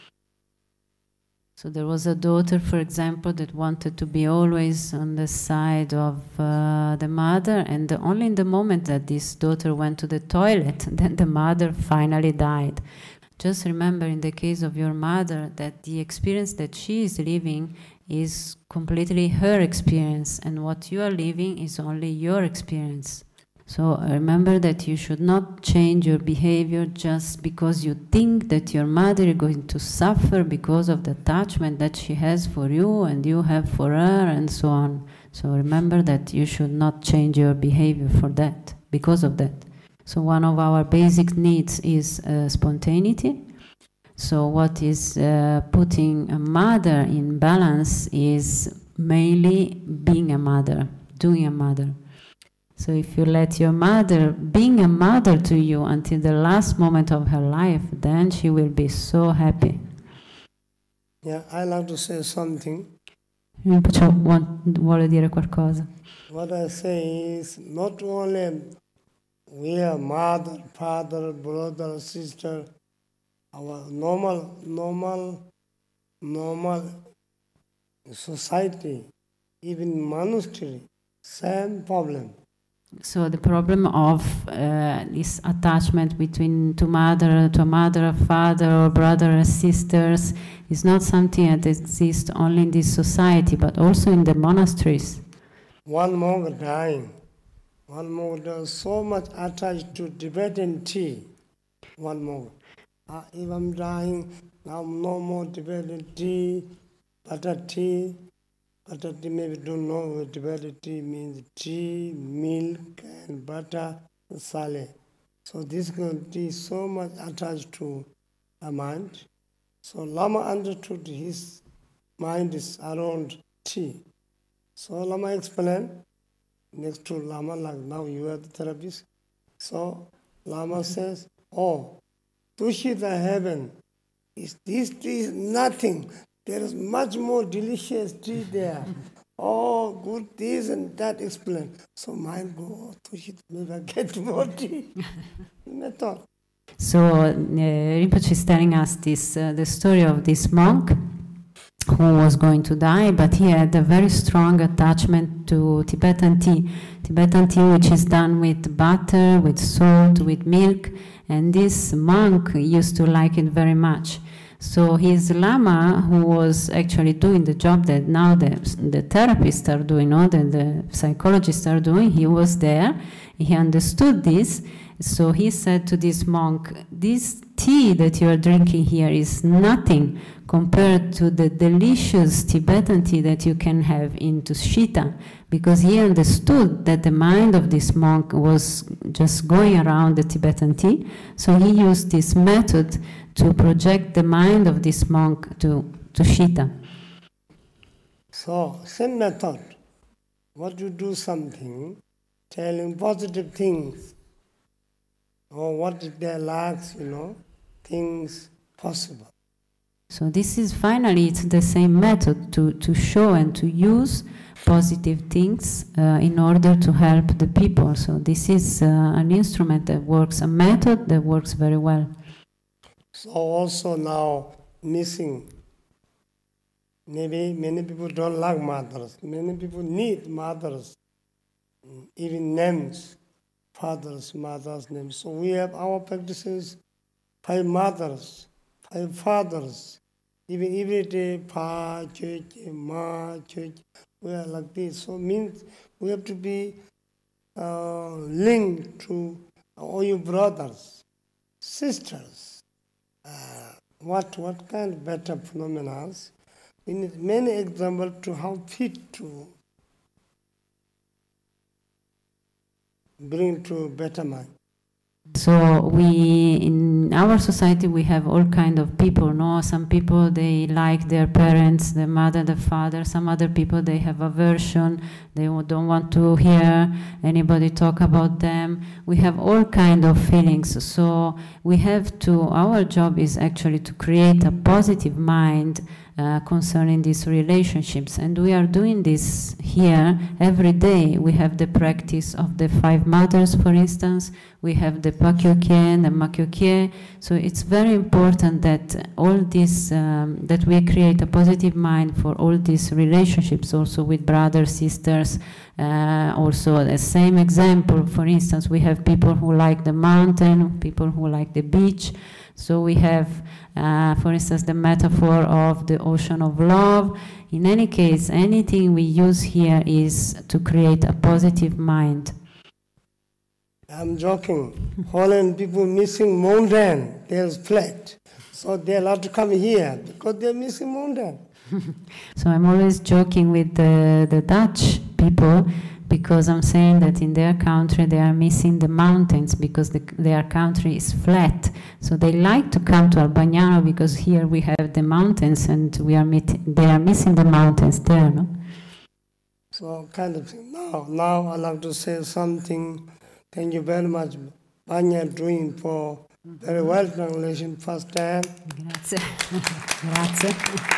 So there was a daughter, for example, that wanted to be always on the side of uh, the mother, and the, only in the moment that this daughter went to the toilet, then the mother finally died. Just remember, in the case of your mother, that the experience that she is living is completely her experience, and what you are living is only your experience. So remember that you should not change your behavior just because you think that your mother is going to suffer because of the attachment that she has for you and you have for her and so on. So remember that you should not change your behavior for that, because of that. So one of our basic needs is uh, spontaneity. So what is uh, putting a mother in balance is mainly being a mother, doing a mother. So if you let your mother, being a mother to you until the last moment of her life, then she will be so happy. Yeah, I like to say something. Rinpoche vuole dire qualcosa. What I say is not only we are mother, father, brother, sister, our normal, normal, normal society, even monastery, same problem. So the problem of uh, this attachment between to mother, to a mother, a father, or brother and sisters is not something that exists only in this society, but also in the monasteries. One monk dying, one monk was so much attached to Tibetan tea. one more. Uh, if I'm dying, now no more developed tea, butter tea. Butter tea, maybe don't know what developed tea means. Tea, milk, and butter, sale. So this tea is so much attached to the mind. So Lama understood his mind is around tea. So Lama explained, next to Lama, like now you are the therapist. So Lama says, oh, Tushita heaven, is this tree is nothing. There is much more delicious tree there. Oh, good this and that explain. So mind go, oh, Tushita, maybe I get more tea. Method. So uh, Rinpoche is telling us this, uh, the story of this monk who was going to die, but he had a very strong attachment to Tibetan tea. Tibetan tea which is done with butter, with salt, with milk, and this monk used to like it very much. So his Lama, who was actually doing the job that now the, the therapists are doing, or the, the psychologists are doing, he was there, he understood this. So he said to this monk, this tea that you are drinking here is nothing compared to the delicious Tibetan tea that you can have in Tushita, because he understood that the mind of this monk was just going around the Tibetan tea. So he used this method to project the mind of this monk to Tushita. So, same method. What you do something, telling positive things, or what if there lacks, you know, things possible. So this is finally, it's the same method to, to show and to use positive things uh, in order to help the people. So this is uh, an instrument that works, a method that works very well. So also now missing. Maybe many people don't like mothers. Many people need mothers, even names, fathers, mothers' names. So we have our practices, five mothers, five fathers, even every day, Pa, Church, Ma, Church, we are like this. So means we have to be uh, linked to all your brothers, sisters. Uh, what what kind of better phenomena? We need many examples to how fit to bring to better mind. So we, in our society, we have all kind of people, no? Some people, they like their parents, the mother, the father. Some other people, they have aversion. They don't want to hear anybody talk about them. We have all kind of feelings. So we have to, our job is actually to create a positive mind Uh, concerning these relationships, and we are doing this here every day. We have the practice of the five mothers, for instance. We have the Pakyokye, the Makyokye. So it's very important that all this, um, that we create a positive mind for all these relationships, also with brothers, sisters. Uh, also the same example, for instance, we have people who like the mountain, people who like the beach. So we have, uh, for instance, the metaphor of the ocean of love. In any case, anything we use here is to create a positive mind. I'm joking. Holland people missing mountain, there's flat. So they're allowed to come here because they're missing mountain. So I'm always joking with the, the Dutch people, because I'm saying that in their country they are missing the mountains because the, their country is flat. So they like to come to Albagnano because here we have the mountains and we are meet, they are missing the mountains there, no? So kind of thing. Now, now I'd like to say something. Thank you very much, Banya, doing for very well translation first time. Grazie. Grazie.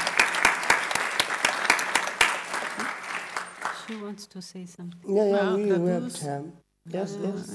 She wants to say something. Yeah, yeah, Well, we, that we have was- time. Yes, yes.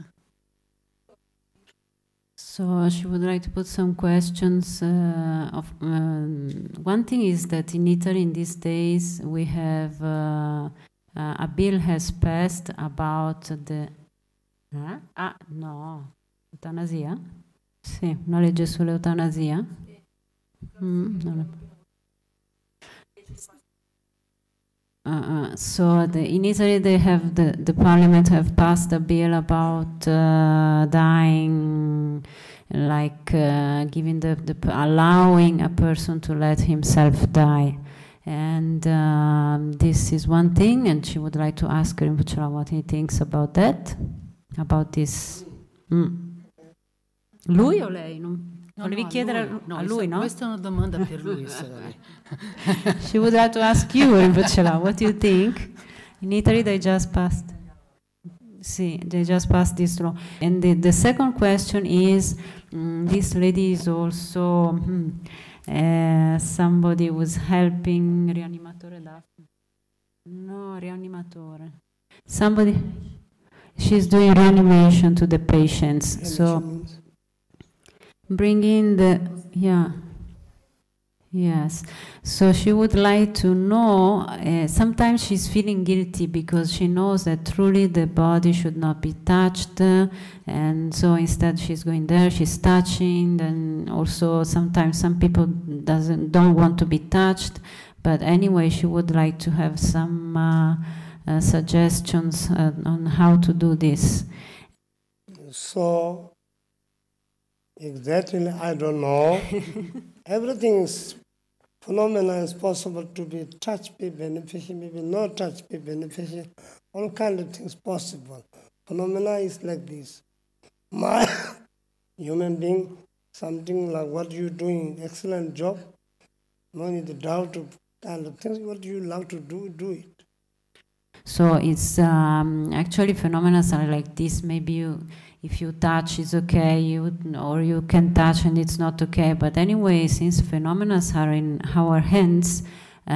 So she would like to put some questions. Uh, of um, one thing is that in Italy in these days we have uh, uh, a bill has passed about the eh? ah no eutanasia. Sì, una legge sull'eutanasia. Mm, non è- Uh, uh, so the, in Italy they have the, the parliament have passed a bill about uh, dying, like uh, giving the, the allowing a person to let himself die, and um, this is one thing. And she would like to ask Rinpoche what he thinks about that, about this. Mm. Lui o lei? Non... No, Volevi no, chiedere a lui, a no, lui, no? Questa è una domanda per lui. She would like to ask you, Rinpoche, what do you think? In Italy they just passed. See, they just passed this law. And the, the second question is, um, this lady is also hmm, uh, somebody who's helping rianimatore Daphne. No, rianimatore. Somebody, she's doing reanimation to the patients. So bring in the, yeah. Yes, so she would like to know, uh, sometimes she's feeling guilty because she knows that truly the body should not be touched, uh, and so instead she's going there, she's touching, and also sometimes some people doesn't don't want to be touched, but anyway she would like to have some uh, uh, suggestions uh, on how to do this. So, exactly, I don't know. Everything is phenomena is possible to be touch be beneficial, maybe not touch be beneficial. All kind of things possible. Phenomena is like this. My human being, something like what you're doing, excellent job. No need to doubt of kind of things. What you love to do, do it. So it's um, actually phenomena are like this. Maybe you, if you touch, it's okay, you, or you can touch and it's not okay. But anyway, since phenomena are in our hands,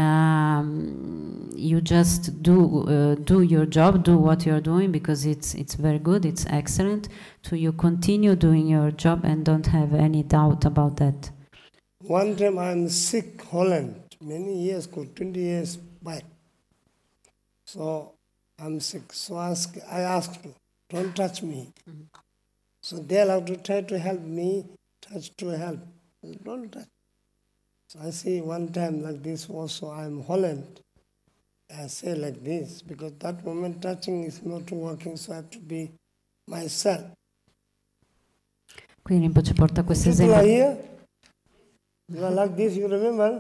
um, you just do uh, do your job, do what you're doing, because it's it's very good, it's excellent. So you continue doing your job and don't have any doubt about that. One time I'm sick, Holland, many years ago, twenty years back. So I'm sick. So ask, I asked you, don't touch me. Mm-hmm. So they have to try to help me, touch to help. Don't touch. So I see one time like this also, I'm Holland. I say like this, because that moment touching is not working, so I have to be myself. Quindi Rinpoche porta questo People esempio. are here. You are like this, you remember?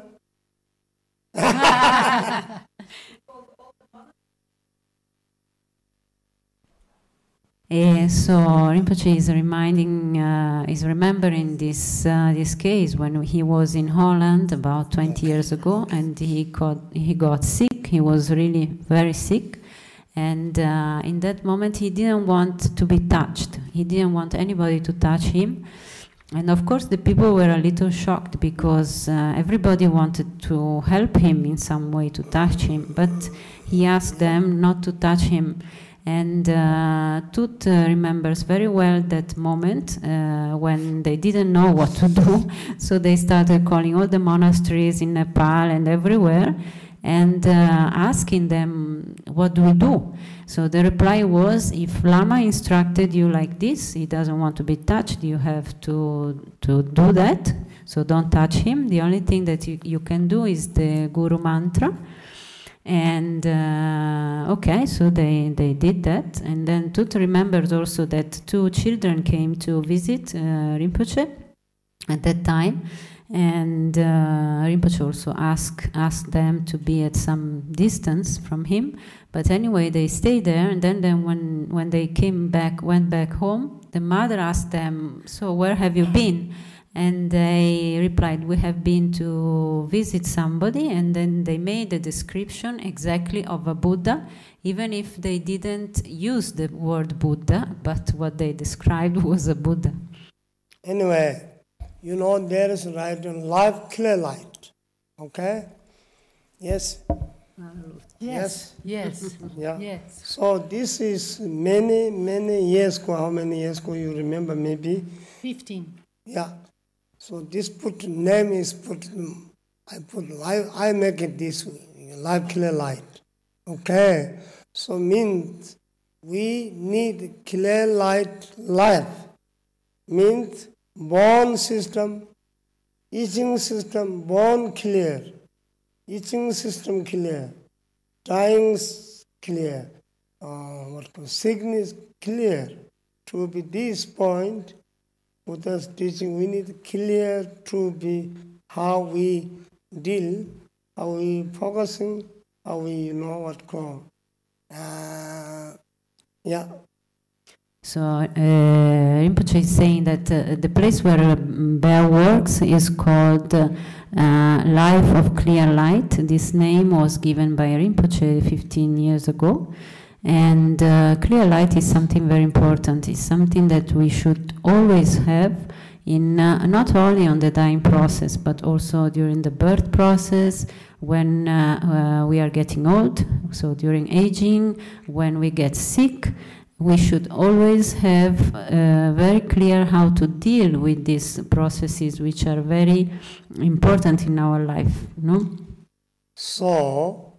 Uh, so Rinpoche is reminding, uh, is remembering this uh, this case when he was in Holland about twenty years ago, and he got he got sick. He was really very sick, and uh, in that moment he didn't want to be touched. He didn't want anybody to touch him, and of course the people were a little shocked because uh, everybody wanted to help him in some way, to touch him, but he asked them not to touch him. And uh, Tut uh, remembers very well that moment uh, when they didn't know what to do, so they started calling all the monasteries in Nepal and everywhere, and uh, asking them, what do we do? So the reply was, if Lama instructed you like this, he doesn't want to be touched, you have to, to do that, so don't touch him. The only thing that you, you can do is the Guru Mantra. And uh, okay, so they, they did that. And then Tut remembers also that two children came to visit uh, Rinpoche at that time. And uh, Rinpoche also asked, asked them to be at some distance from him. But anyway, they stayed there. And then, then when, when they came back, went back home, the mother asked them, so where have you been? And they replied, we have been to visit somebody, and then they made a description exactly of a Buddha, even if they didn't use the word Buddha, but what they described was a Buddha. Anyway, you know there is right and life, clear light. Okay? Yes? Yes. Yes. Yeah. Yes. So this is many, many years ago. How many years ago you remember? Maybe? Fifteen. Yeah. So this put name is put, I put, I, I make it this way, life clear light. Okay, so means we need clear light life. Means born system, teaching system, born clear, teaching system clear, dying is clear, uh, what called sickness clear. To be this point, Buddha's teaching, we need clear to be how we deal, how we focusing, how we, you know what called. Uh, yeah. So uh, Rinpoche is saying that uh, the place where uh, Bell works is called uh, uh, Life of Clear Light. This name was given by Rinpoche fifteen years ago. And uh, clear light is something very important. It's something that we should always have, in uh, not only on the dying process, but also during the birth process, when uh, uh, we are getting old, so during aging, when we get sick. We should always have uh, very clear how to deal with these processes, which are very important in our life. No? So,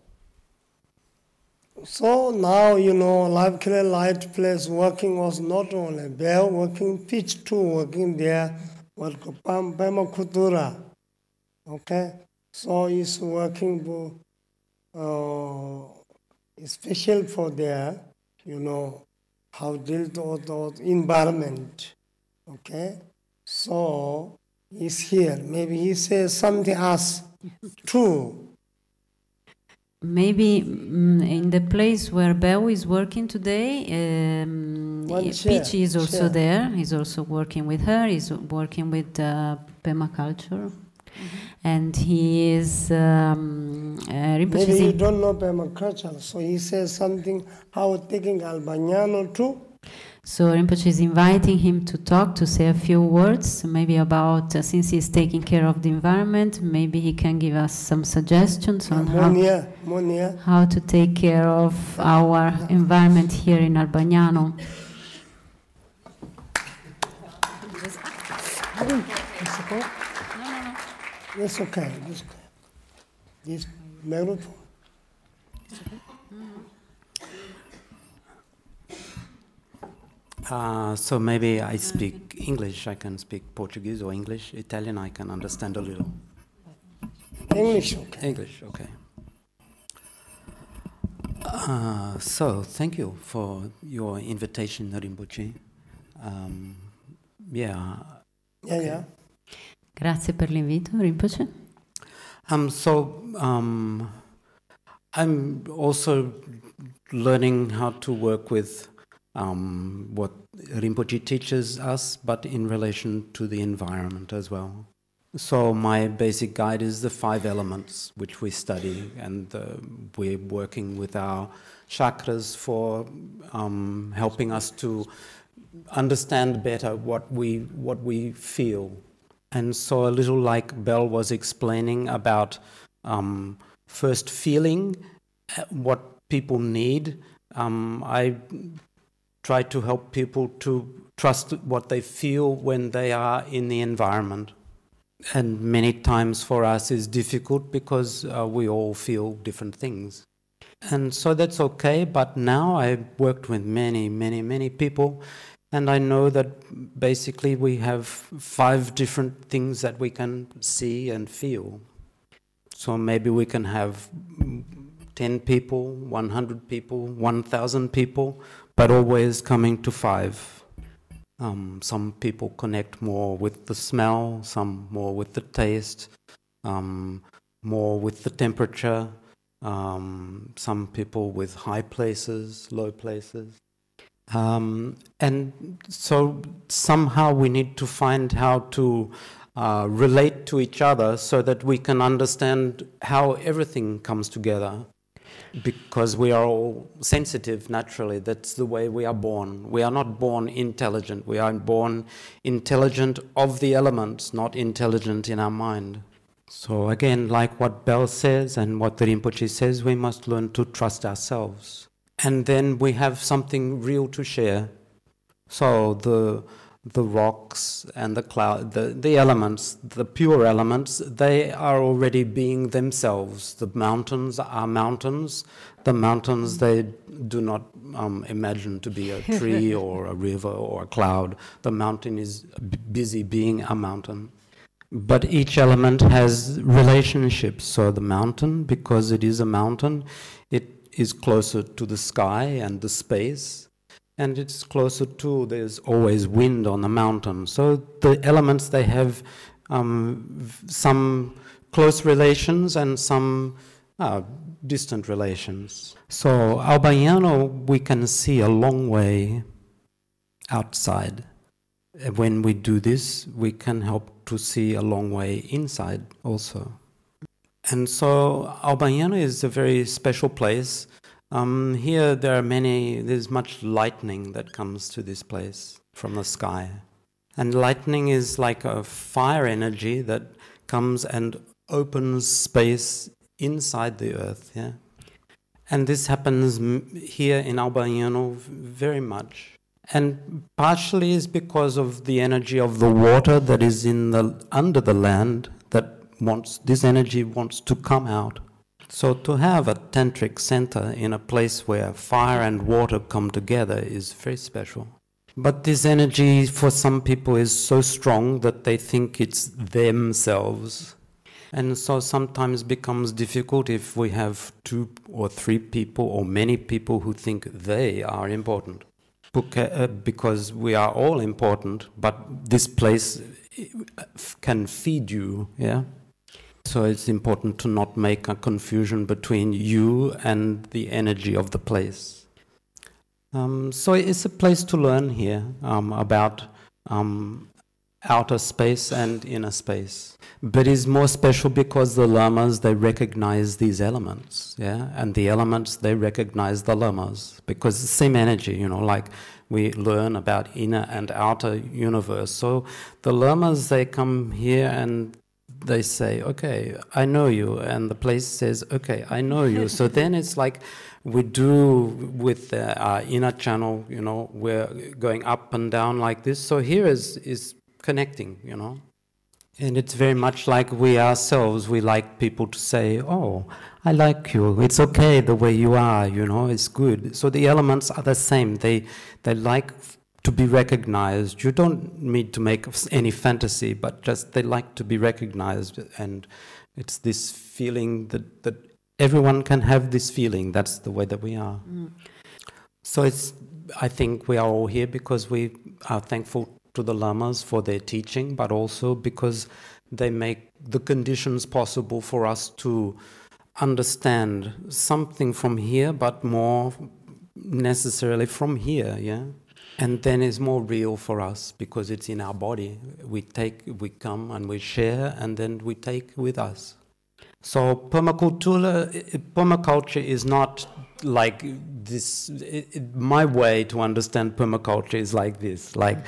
so now, you know, Life Clear Light place working was not only Bell working, pitch too working there, what Pema Kutura. Okay? So it's working uh, special for there, you know, how deal with the environment. Okay? So he's here. Maybe he says something else too. Maybe mm, in the place where Beo is working today, um, Peach is also chair. there. He's also working with her. He's working with uh, permaculture. Mm-hmm. And he is... Um, uh, Maybe you don't know permaculture, so he says something, how taking Albagnano too. So Rinpoche is inviting him to talk, to say a few words, maybe about, uh, since he's taking care of the environment, maybe he can give us some suggestions on Monia, how, Monia. how to take care of our environment here in Albagnano. It's okay. It's okay. This microphone. Uh, so maybe I speak English, I can speak Portuguese or English, Italian, I can understand a little. English, okay. English, okay. Uh, so, thank you for your invitation, Rinpoche. Um, yeah. Yeah, okay. yeah. Grazie per l'invito, Rinpoche. Um, so, um, I'm also learning how to work with um, what Rinpoche teaches us, but in relation to the environment as well. So my basic guide is the five elements which we study, and uh, we're working with our chakras for um, helping us to understand better what we what we feel. And so a little like Bell was explaining about um, first feeling what people need, um, I try to help people to trust what they feel when they are in the environment. And many times for us is difficult because uh, we all feel different things. And so that's okay, but now I've worked with many, many, many people, and I know that basically we have five different things that we can see and feel. So maybe we can have ten people, one hundred people, one thousand people, but always coming to five. Um, some people connect more with the smell, some more with the taste, um, more with the temperature, um, some people with high places, low places. Um, and so somehow we need to find how to uh, relate to each other so that we can understand how everything comes together. Because we are all sensitive naturally, that's the way we are born. We are not born intelligent, we are born intelligent of the elements, not intelligent in our mind. So again, like what Bell says and what the Rinpoche says, we must learn to trust ourselves. And then we have something real to share. So the the rocks and the cloud, the, the elements, the pure elements, they are already being themselves. The mountains are mountains. The mountains, they do not um, imagine to be a tree or a river or a cloud. The mountain is b busy being a mountain. But each element has relationships. So the mountain, because it is a mountain, it is closer to the sky and the space, and it's closer to, there's always wind on the mountain. So the elements, they have um, some close relations and some uh, distant relations. So Al Baiano, we can see a long way outside. When we do this, we can help to see a long way inside also. And so Al Baiano is a very special place. Um, here there are many, there's much lightning that comes to this place from the sky. And lightning is like a fire energy that comes and opens space inside the earth, yeah. And this happens m here in Al Baiano very much. And partially is because of the energy of the water that is in the under the land that wants, this energy wants to come out. So to have a tantric center in a place where fire and water come together is very special. But this energy for some people is so strong that they think it's themselves. And so sometimes becomes difficult if we have two or three people or many people who think they are important. Because we are all important, but this place can feed you, yeah? So it's important to not make a confusion between you and the energy of the place. Um, so it's a place to learn here um, about um, outer space and inner space. But it's more special because the lamas, they recognize these elements, yeah? And the elements, they recognize the lamas, because it's the same energy, you know, like we learn about inner and outer universe. So the lamas, they come here and they say, okay, I know you, and the place says, okay, I know you. So then it's like we do with the, our inner channel, you know, we're going up and down like this. So here is, is connecting, you know. And it's very much like we ourselves, we like people to say, oh, I like you, it's okay the way you are, you know, it's good. So the elements are the same, they, they like to be recognized. You don't need to make any fantasy, but just they like to be recognized. And it's this feeling that, that everyone can have this feeling, that's the way that we are. Mm. So it's, I think we are all here because we are thankful to the lamas for their teaching, but also because they make the conditions possible for us to understand something from here, but more necessarily from here, yeah? And then it's more real for us because it's in our body. We take, we come and we share, and then we take with us. So permaculture, permaculture is not like this. It, it, my way to understand permaculture is like this. Like,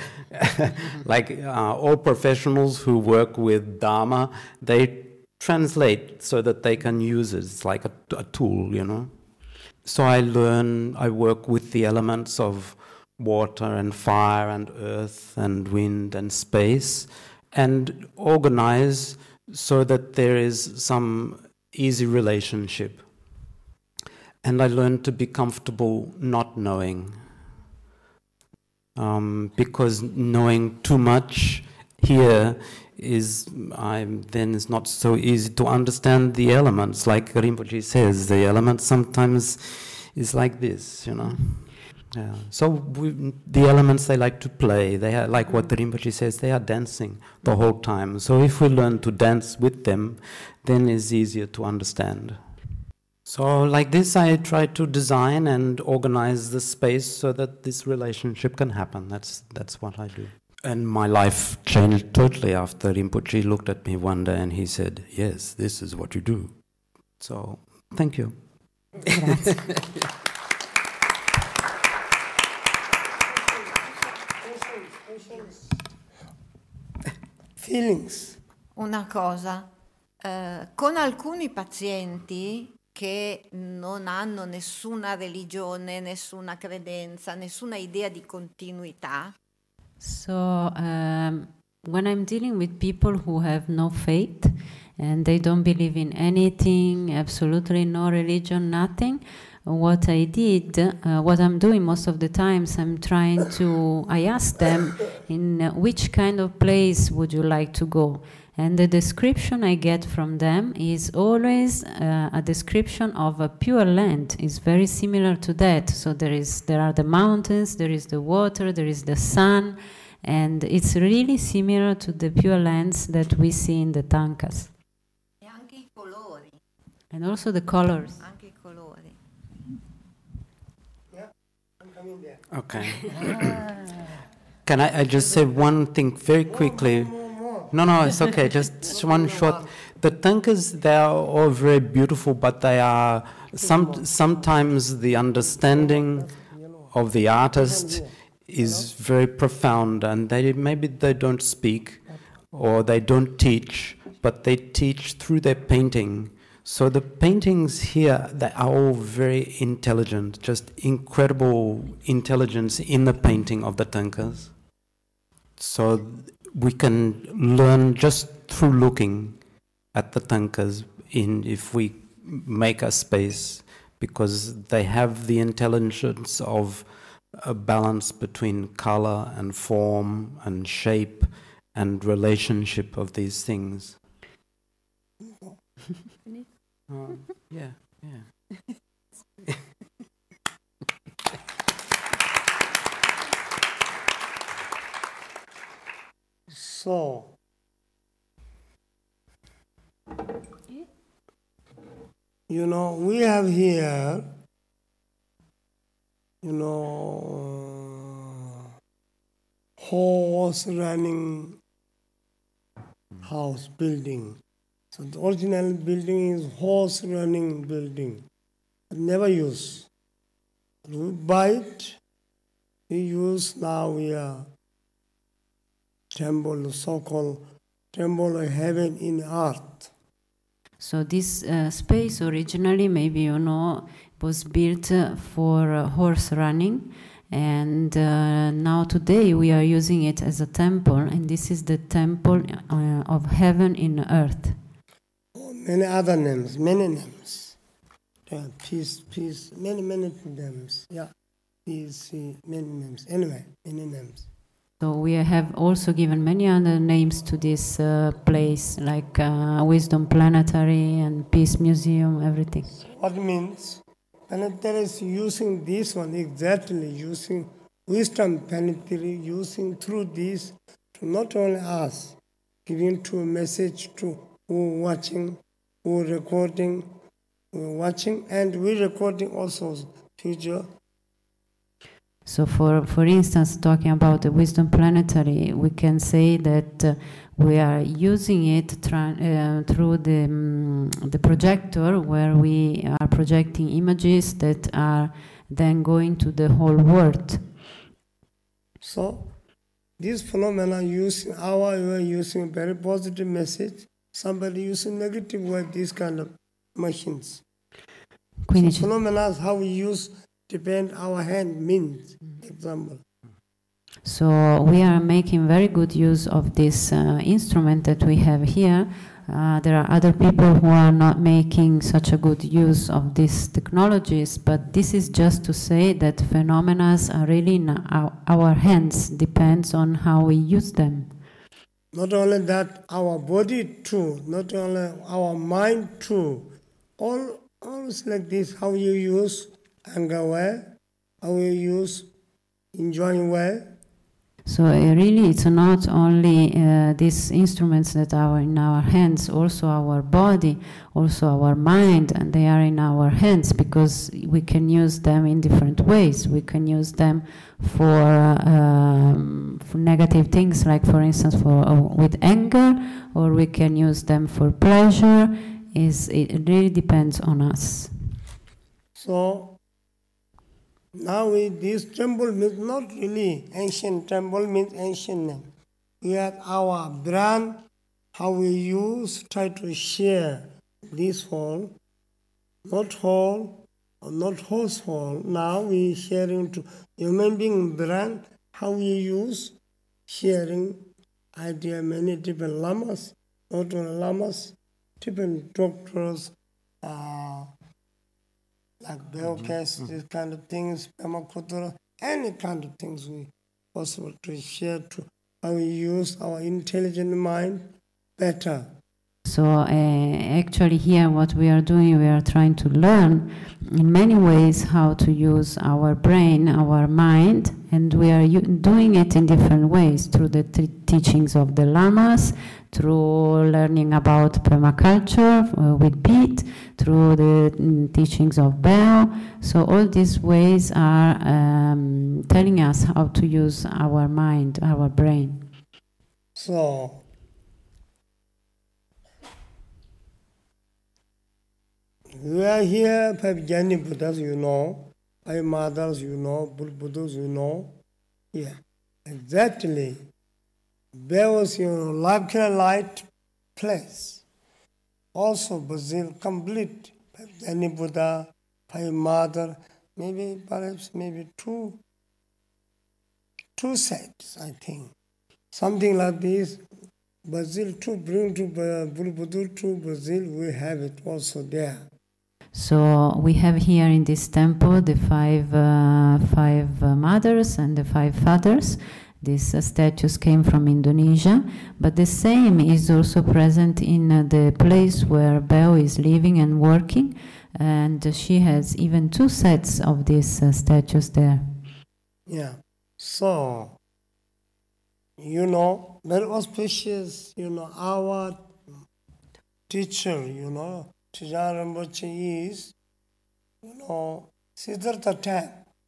like uh, all professionals who work with Dharma, they translate so that they can use it. It's like a, a tool, you know. So I learn, I work with the elements of water and fire and earth and wind and space, and organize so that there is some easy relationship. And I learned to be comfortable not knowing, um, because knowing too much here is, I'm, then it's not so easy to understand the elements. Like Rinpoche says, the elements sometimes is like this, you know. Yeah. So we, the elements, they like to play. They are, like what the Rinpoche says, they are dancing the whole time. So if we learn to dance with them, then it's easier to understand. So like this, I try to design and organize the space so that this relationship can happen. That's, that's what I do. And my life changed totally after Rinpoche looked at me one day and he said, yes, this is what you do. So, thank you. Grazie. Feelings. Una cosa, eh, con alcuni pazienti che non hanno nessuna religione, nessuna credenza, nessuna idea di continuità. So um, when I'm dealing with people who have no faith and they don't believe in anything, absolutely no religion, nothing, what I did, uh, what I'm doing most of the times, I'm trying to, I ask them, in uh, which kind of place would you like to go? And the description I get from them is always uh, a description of a pure land. It's very similar to that. So there is, there are the mountains, there is the water, there is the sun, and it's really similar to the pure lands that we see in the Tankas. E anche i colori. And also the colors. Anche i colori. Yeah, I'm coming there. Okay. Can I, I just say one thing very quickly? No, no, it's okay. Just one short. The Tankas, they are all very beautiful, but they are some sometimes the understanding of the artist is very profound, and they maybe they don't speak or they don't teach, but they teach through their painting. So the paintings here, they are all very intelligent, just incredible intelligence in the painting of the Tankas. So we can learn just through looking at the Tankas in if we make a space, because they have the intelligence of a balance between color and form and shape and relationship of these things. uh, yeah, yeah. So, you know, we have here, you know, horse running house building. So the original building is horse running building. Never use. We buy it, we use now we are temple, so-called temple of heaven in earth. So this uh, space originally, maybe you know, was built uh, for uh, horse running, and uh, now today we are using it as a temple, and this is the temple uh, of heaven in earth. Oh, many other names, many names. Yeah, peace, peace, many, many names. Yeah, peace, many names. Anyway, many names. So we have also given many other names to this uh, place, like uh, Wisdom Planetary and Peace Museum, everything. What means? Planetary is using this one exactly, using Wisdom Planetary, using through this to not only us, giving to a message to who watching, who recording, who watching, and we recording also future. So for, for instance, talking about the Wisdom Planetary, we can say that uh, we are using it uh, through the, um, the projector, where we are projecting images that are then going to the whole world. So this phenomena using our way, using very positive message, somebody using negative way, these kind of machines. Quindi so phenomena, how we use depend our hand means, example. So we are making very good use of this uh, instrument that we have here. Uh, there are other people who are not making such a good use of these technologies, but this is just to say that phenomena are really in our, our hands, depends on how we use them. Not only that, our body too, not only our mind too. All, all is like this, how you use anger well, how you use enjoying well. So uh, really it's not only uh, these instruments that are in our hands, also our body, also our mind, and they are in our hands because we can use them in different ways. We can use them for, uh, um, for negative things, like for instance for uh, with anger, or we can use them for pleasure. Is it really depends on us. So now we, this temple means not really ancient temple, means ancient name. We have our brand, how we use, try to share this whole, not whole, or not horse whole. Now we sharing to human being brand, how we use, sharing idea, many different lamas, not only lamas, different doctors, uh, like Beokas, mm-hmm. these kind of things, Pemakutura, any kind of things we possible to share to how we use our intelligent mind better. So uh, actually here what we are doing, we are trying to learn in many ways how to use our brain, our mind, and we are doing it in different ways through the t teachings of the lamas, through learning about permaculture uh, with Pete, through the mm, teachings of Bell. So all these ways are um, telling us how to use our mind, our brain. So we are here, five Jnani Buddhas, you know, five mothers, you know, Buddhas, you know. Yeah, exactly. There was, you know, Labkira light place. Also, Brazil, complete. Five Jnani Buddha, five mother, maybe, perhaps, maybe two, two sets, I think. Something like this. Brazil, to bring to Buddha to Brazil, we have it also there. So we have here in this temple the five, uh, five uh, mothers and the five fathers. These uh, statues came from Indonesia, but the same is also present in uh, the place where Beo is living and working, and uh, she has even two sets of these uh, statues there. Yeah, so, you know, very auspicious, you know, our teacher, you know, Trijang Rinpoche is, you know, Siddhartha time,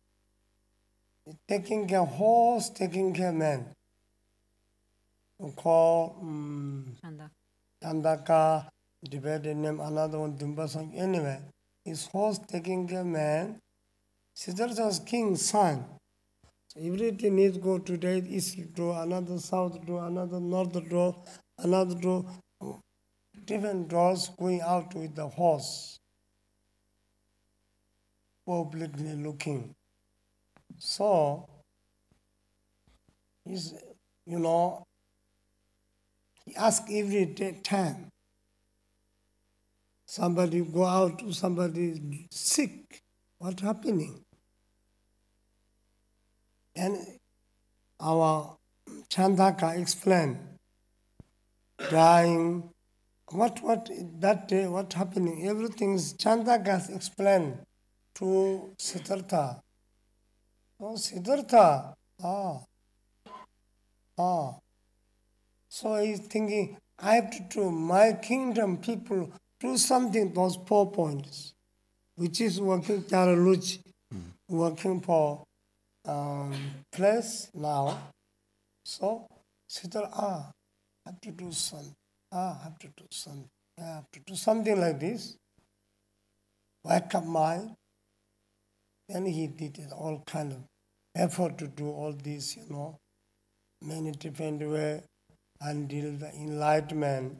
taking care of horse, taking care of man. We call um, Chandaka, divided name, another one, Dumbasang. Anyway, his horse taking care of man, Siddhartha's king's son. So everything needs to go today, east door, another south door, another north door, another door. Different doors going out with the horse, publicly looking. So, he's, you know, he asks every day, time. Somebody go out, somebody sick, what's happening? And our Chandaka explained, dying. What, what, that day, what happening? Everything's Chandaka explained to Siddhartha. Oh, Siddhartha, ah, ah. So he's thinking, I have to do my kingdom people do something, those four points, which is working Charaluchi, mm. working for um, place now. So Siddhartha, ah, I have to do something. Ah, I have to do something. I have to do something like this. Wake up mind. Then he did it, all kind of effort to do all this, you know, many different ways until the enlightenment.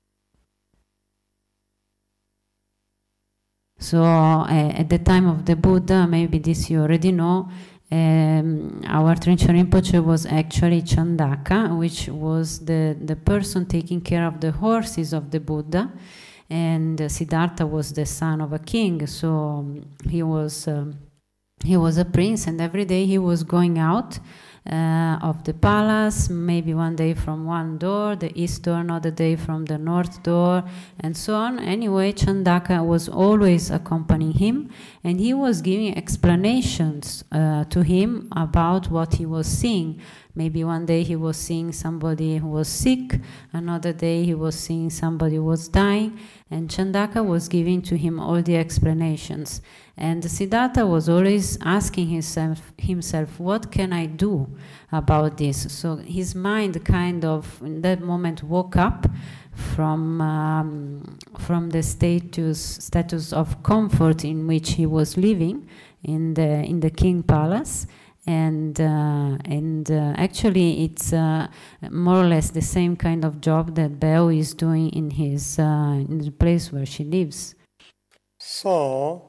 So uh, at the time of the Buddha, maybe this you already know, Um, our Trinchen Rinpoche was actually Chandaka, which was the, the person taking care of the horses of the Buddha, and uh, Siddhartha was the son of a king, so um, he was um, he was a prince, and every day he was going out uh, of the palace, maybe one day from one door, the east door, another day from the north door, and so on. Anyway, Chandaka was always accompanying him, and he was giving explanations uh, to him about what he was seeing. Maybe one day he was seeing somebody who was sick, another day he was seeing somebody who was dying, and Chandaka was giving to him all the explanations. And Siddhartha was always asking himself, himself, what can I do about this? So his mind kind of, in that moment, woke up from, um, from the status, status of comfort in which he was living in the, in the king palace. And, uh, and uh, actually it's uh, more or less the same kind of job that Beo is doing in, his, uh, in the place where she lives. So,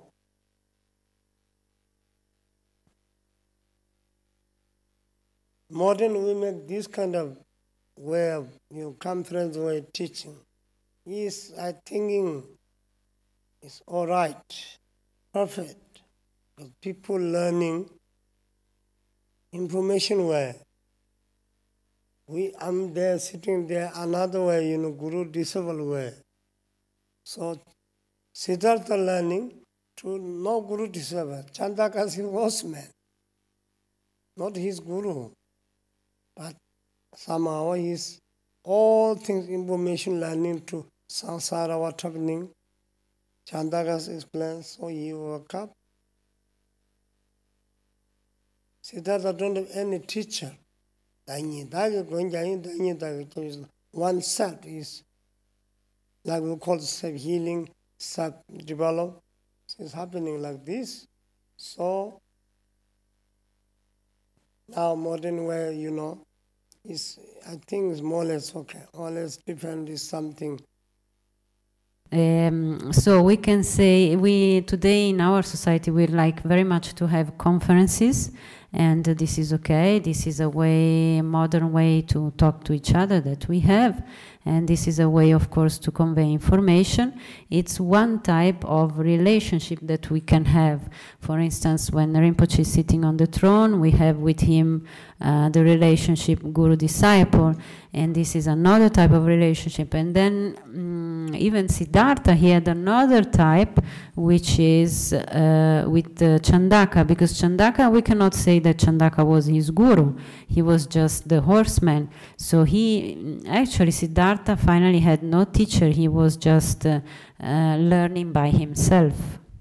modern we make this kind of way of, you know, conference way of teaching is, I thinking, is all right. perfect. But people learning information way. We, I'm there sitting there another way, you know, Guru disciple way. So Siddhartha learning to no Guru disciple. Chandaka is his horseman, not his Guru. But somehow he's all things information learning to samsara what happening. Chandaka explains, so he woke up. Siddhartha don't have any teacher. One self is, like we call self-healing, self-develop. It's happening like this. So, now modern way, you know, is I think it's more or less okay. More or less different is something. Um, so we can say we today in our society we like very much to have conferences, and uh, this is okay. This is a way, a modern way to talk to each other that we have, and this is a way, of course, to convey information. It's one type of relationship that we can have. For instance, when Rinpoche is sitting on the throne, we have with him uh, the relationship guru-disciple, and this is another type of relationship. And then um, even Siddhartha, he had another type, which is uh, with uh, Chandaka, because Chandaka, we cannot say that Chandaka was his guru. He was just the horseman. So he, actually, Siddhartha finally had no teacher. He was just uh, uh, learning by himself.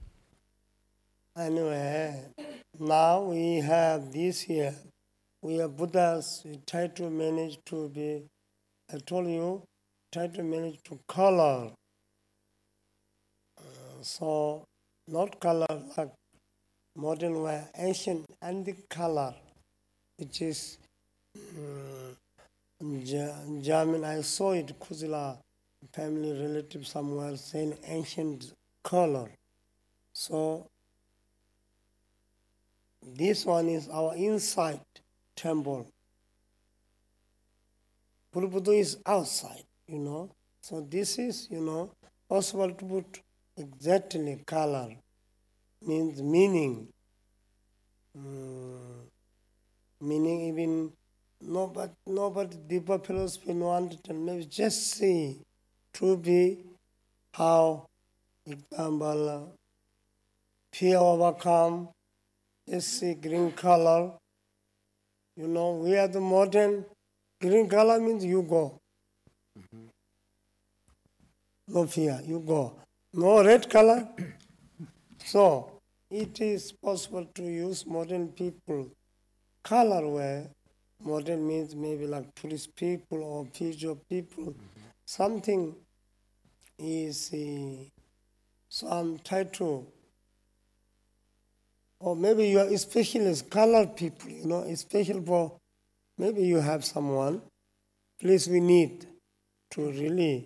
Anyway, now we have this here. We are Buddhas. We try to manage to be, I told you, try to manage to color. Uh, so, not color like modern way, ancient antique color, which is um, German. I saw it, Kuzila family relative somewhere saying ancient color. So, this one is our inside temple. Buddha is outside, you know. So this is, you know, possible to put exactly color, means meaning. Mm, meaning even nobody, nobody deeper philosophy no understand. Maybe just see to be how, example, uh, fear overcome, just see green color. You know, we are the modern, green color means you go. Mm-hmm. No fear, you go. No red color. So, it is possible to use modern people color where modern means maybe like police people or future people. Mm-hmm. Something is, uh, so I'm trying to, or maybe you are specialist color people, you know, especially for, maybe you have someone, please we need to really,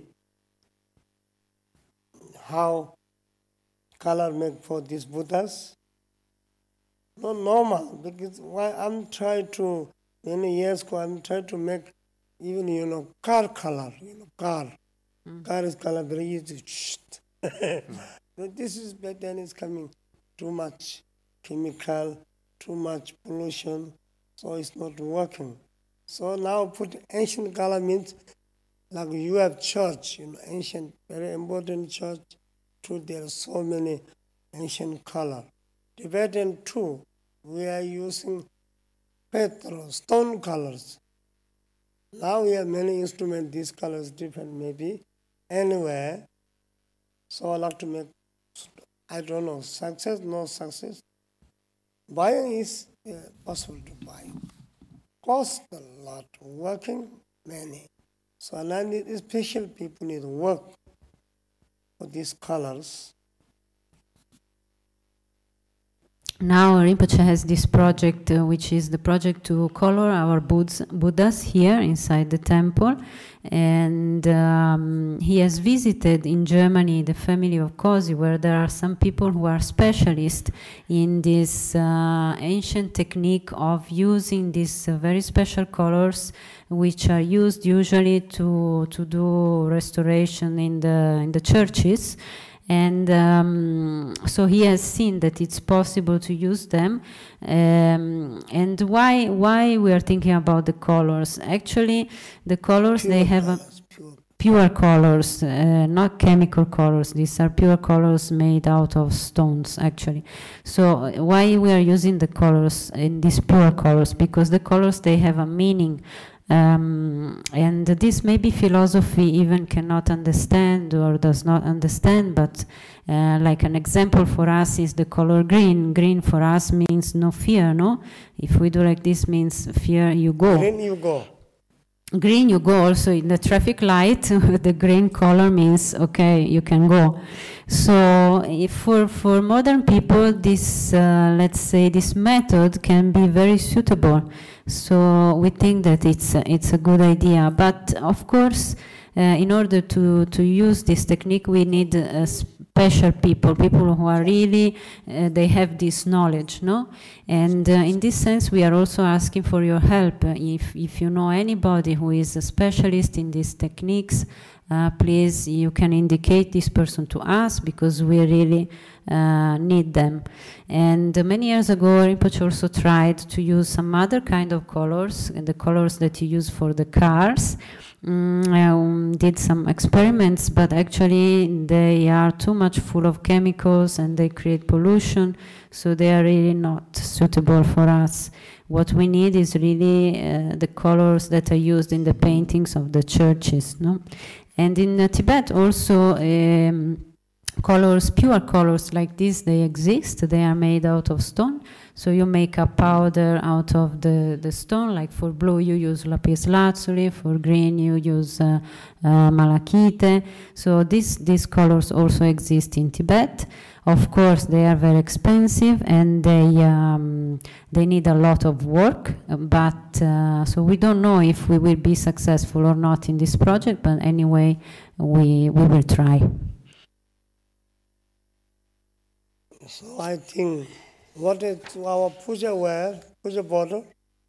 how color make for these Buddhas? Not normal, because why I'm trying to, many years ago, I'm trying to make even, you know, car color, you know, car. Mm. Car is color very easy. mm. But this is bad, then it's coming too much chemical, too much pollution, so it's not working. So now put ancient color means like you have church, you know, ancient, very important church, too, there are so many ancient color. Tibetan too, we are using petrol, stone colors. Now we have many instruments, these colors different maybe, anywhere. So I like to make, I don't know, success, no success. Buying is uh, possible to buy. Cost a lot, working many. So I need special people need work for these colors. Now Rinpoche has this project, uh, which is the project to color our Buddhas here inside the temple. And um, he has visited in Germany the family of Cosi, where there are some people who are specialists in this uh, ancient technique of using these uh, very special colors, which are used usually to, to do restoration in the, in the churches. And um, so he has seen that it's possible to use them. Um, and why why we are thinking about the colors? Actually, the colors, Pure they have a colors, pure. pure colors, uh, not chemical colors. These are pure colors made out of stones, actually. So uh, why we are using the colors in these pure colors? Because the colors, they have a meaning. Um, and this maybe philosophy even cannot understand or does not understand, but uh, like an example for us is the color green. Green for us means no fear, no? If we do like this, means fear, you go. Green you go. Green, you go also in the traffic light. The green color means, okay, you can go. So if for, for modern people, this, uh, let's say, this method can be very suitable. So we think that it's, it's a good idea. But of course, uh, in order to, to use this technique, we need uh, special people, people who are really, uh, they have this knowledge, no? And uh, in this sense, we are also asking for your help. Uh, if, if you know anybody who is a specialist in these techniques, uh, please, you can indicate this person to us, because we really uh, need them. And uh, many years ago, Rinpoche also tried to use some other kind of colors, and the colors that you use for the cars. Mm, um, did some experiments, but actually they are too much full of chemicals and they create pollution, so they are really not suitable for us. What we need is really uh, the colors that are used in the paintings of the churches, no? And in uh, Tibet also, um, colors, pure colors like this, they exist. They are made out of stone. So you make a powder out of the, the stone. Like for blue, you use lapis lazuli. For green, you use uh, uh, malachite. So these, these colors also exist in Tibet. Of course, they are very expensive and they, um, they need a lot of work. But uh, so we don't know if we will be successful or not in this project. But anyway, we, we will try. So I think what is our puja wear, puja bottle?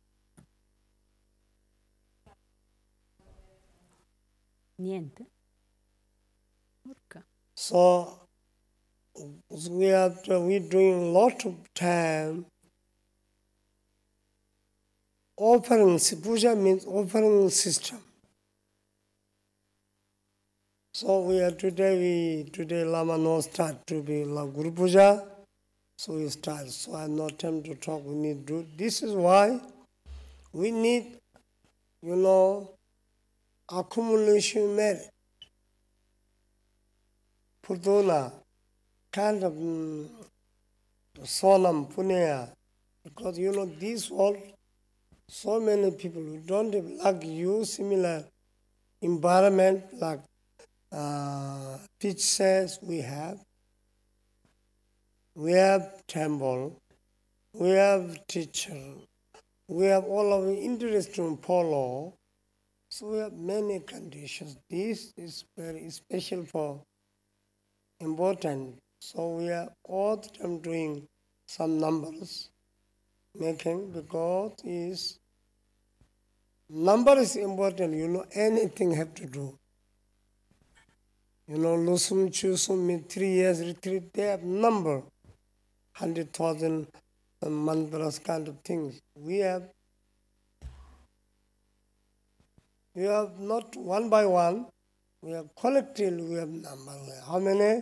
Niente. So we are we doing a lot of time. Offering, puja means offering system. So we are today, we today Lama no start to be like Guru Puja, so we start. So I have no time to talk, we need to do. This is why we need, you know, accumulation merit. Putuna, kind of um, Sonam, Punya, because you know, this world, so many people who don't have, like you, similar environment, like Uh, Teach says we have, we have temple, we have teacher, we have all of the interest to follow, so we have many conditions. This is very special for important. So we are all the time doing some numbers, making, because is number is important, you know, anything have to do. You know, Lusum, Chusum, three years retreat, they have number, hundred thousand mantras kind of things. We have, we have not one by one, we have collectively, we have number. How many?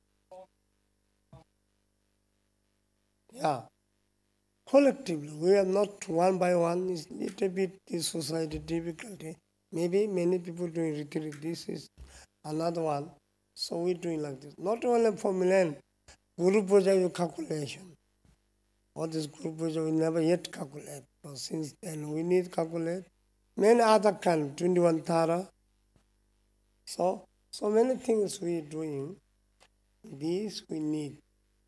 Yeah. Collectively, we have not one by one, it's a little bit the society difficulty. Maybe many people doing retreat, this is another one. So we're doing like this. Not only for Milan, Guru Puja you calculation. What is Guru Puja we never yet calculate. But since then we need calculate. Many other kind, twenty-one Tara. So, so many things we doing. These we need.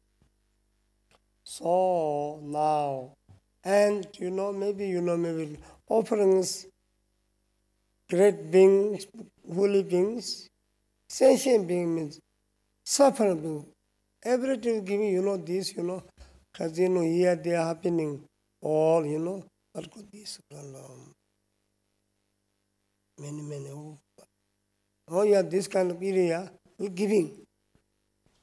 So now, and you know, maybe you know, maybe offerings, great beings, holy beings, sentient being means suffering being. Everything giving, you know, this, you know, because you know, here they are happening, all, you know, what could this, um, many, many, oh, oh yeah, this kind of area, we're giving.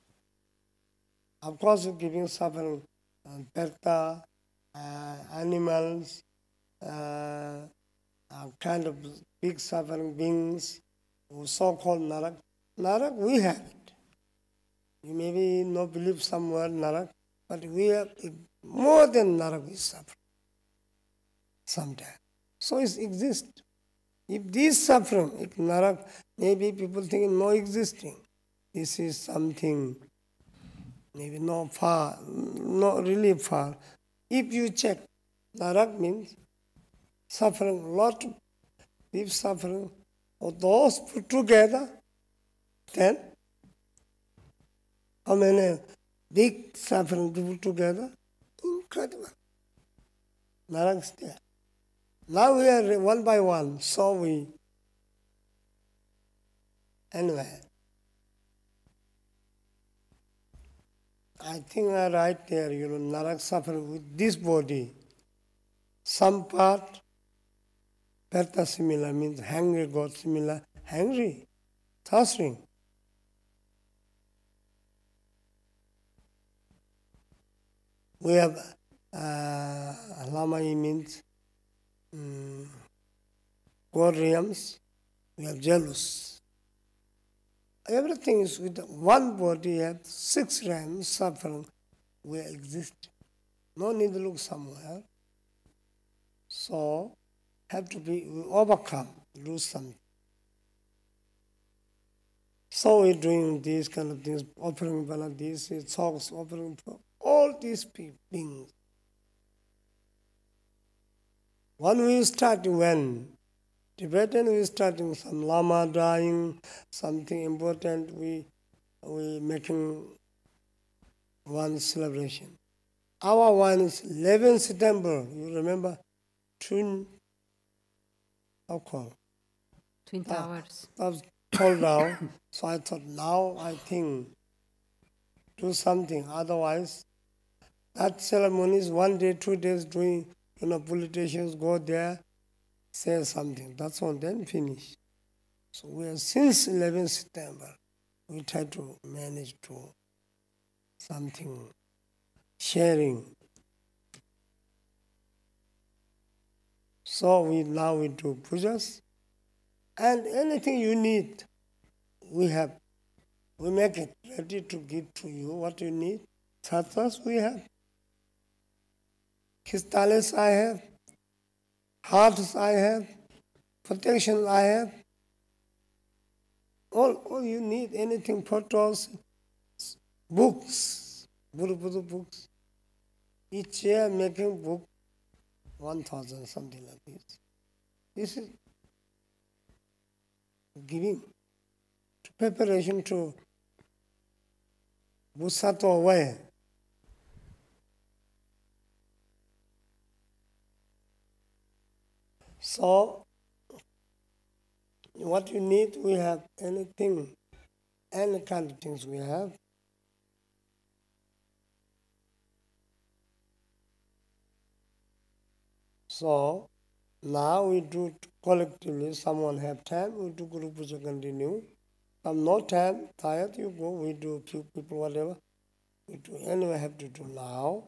Of course, giving suffering, uh, perta, uh, animals, uh, uh, kind of big suffering beings, so-called narak. Narak, we have it. You maybe not believe some word narak, but we have more than narak we suffer sometimes. So it exists. If this suffering, if narak, maybe people think no existing. This is something maybe not far, not really far. If you check, narak means suffering, lot of deep suffering, or those put together, then how many big suffering put together? Incredible. Narak is there. Now we are one by one, so we, anyway, I think I write there, you know, narak suffering with this body. Some part, perta similar means hungry, God similar, hungry, thirsting. We have uh, Lamai means um, God realms, we have jealous. Everything is with one body, have six realms suffering, we exist. No need to look somewhere. So, have to be we overcome, do something. So we're doing these kind of things, offering these talks, offering for all these beings. When we start, when Tibetan we starting some lama dying, something important, we we making one celebration. Our one is eleventh September. You remember, Twin, how called? Twin Towers. That was called down. So I thought, now I think do something. Otherwise, that ceremony is one day, two days doing. You know, politicians go there, say something. That's all. Then finish. So we are since eleventh September. We try to manage to something sharing. So we now we do pujas, and anything you need, we have. We make it ready to give to you what you need. Chhatras we have. Crystals I have. Hearts I have. Protection I have. All, all you need, anything, photos, books, Guru Buddha books. Each year making book, one thousand, something like this. This is giving to preparation to Busato way. So, what you need, we have anything, any kind of things we have. So, now we do collectively, someone have time, we do Guru Puja continue. Some no time, tired, you go, we do few people, whatever. We do, anyway, have to do now.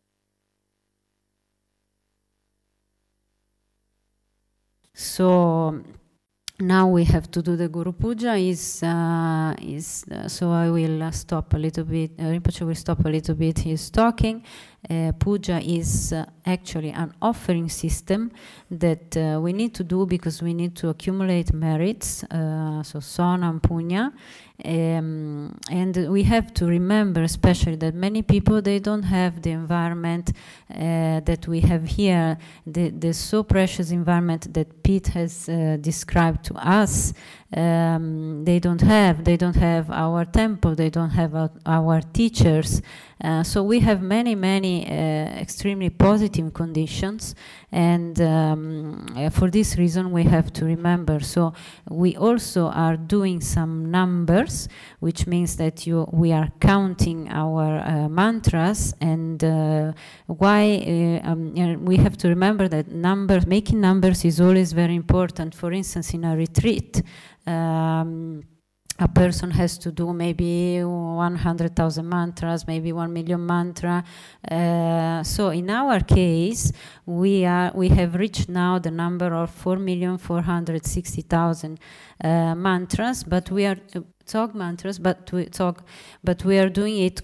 So now we have to do the Guru Puja. Is uh, is uh, so I will uh, stop a little bit. Uh, Rinpoche will stop a little bit his talking. Uh, puja is uh, actually an offering system that uh, we need to do because we need to accumulate merits. Uh, so sonam punya. Um, and we have to remember especially that many people, they don't have the environment uh, that we have here, the, the so precious environment that Pete has uh, described to us. Um, they don't have, they don't have our temple, they don't have our, our teachers. Uh, so we have many, many uh, extremely positive conditions, and um, uh, for this reason we have to remember. So we also are doing some numbers, which means that you, we are counting our uh, mantras, and uh, why uh, um, you know, we have to remember that numbers, making numbers is always very important. For instance, in a retreat, um, a person has to do maybe one hundred thousand mantras, maybe one million mantra. Uh, so in our case, we are we have reached now the number of four million four hundred sixty thousand uh, mantras, but we are uh, Tsog mantras, but we Tsog, but we are doing it.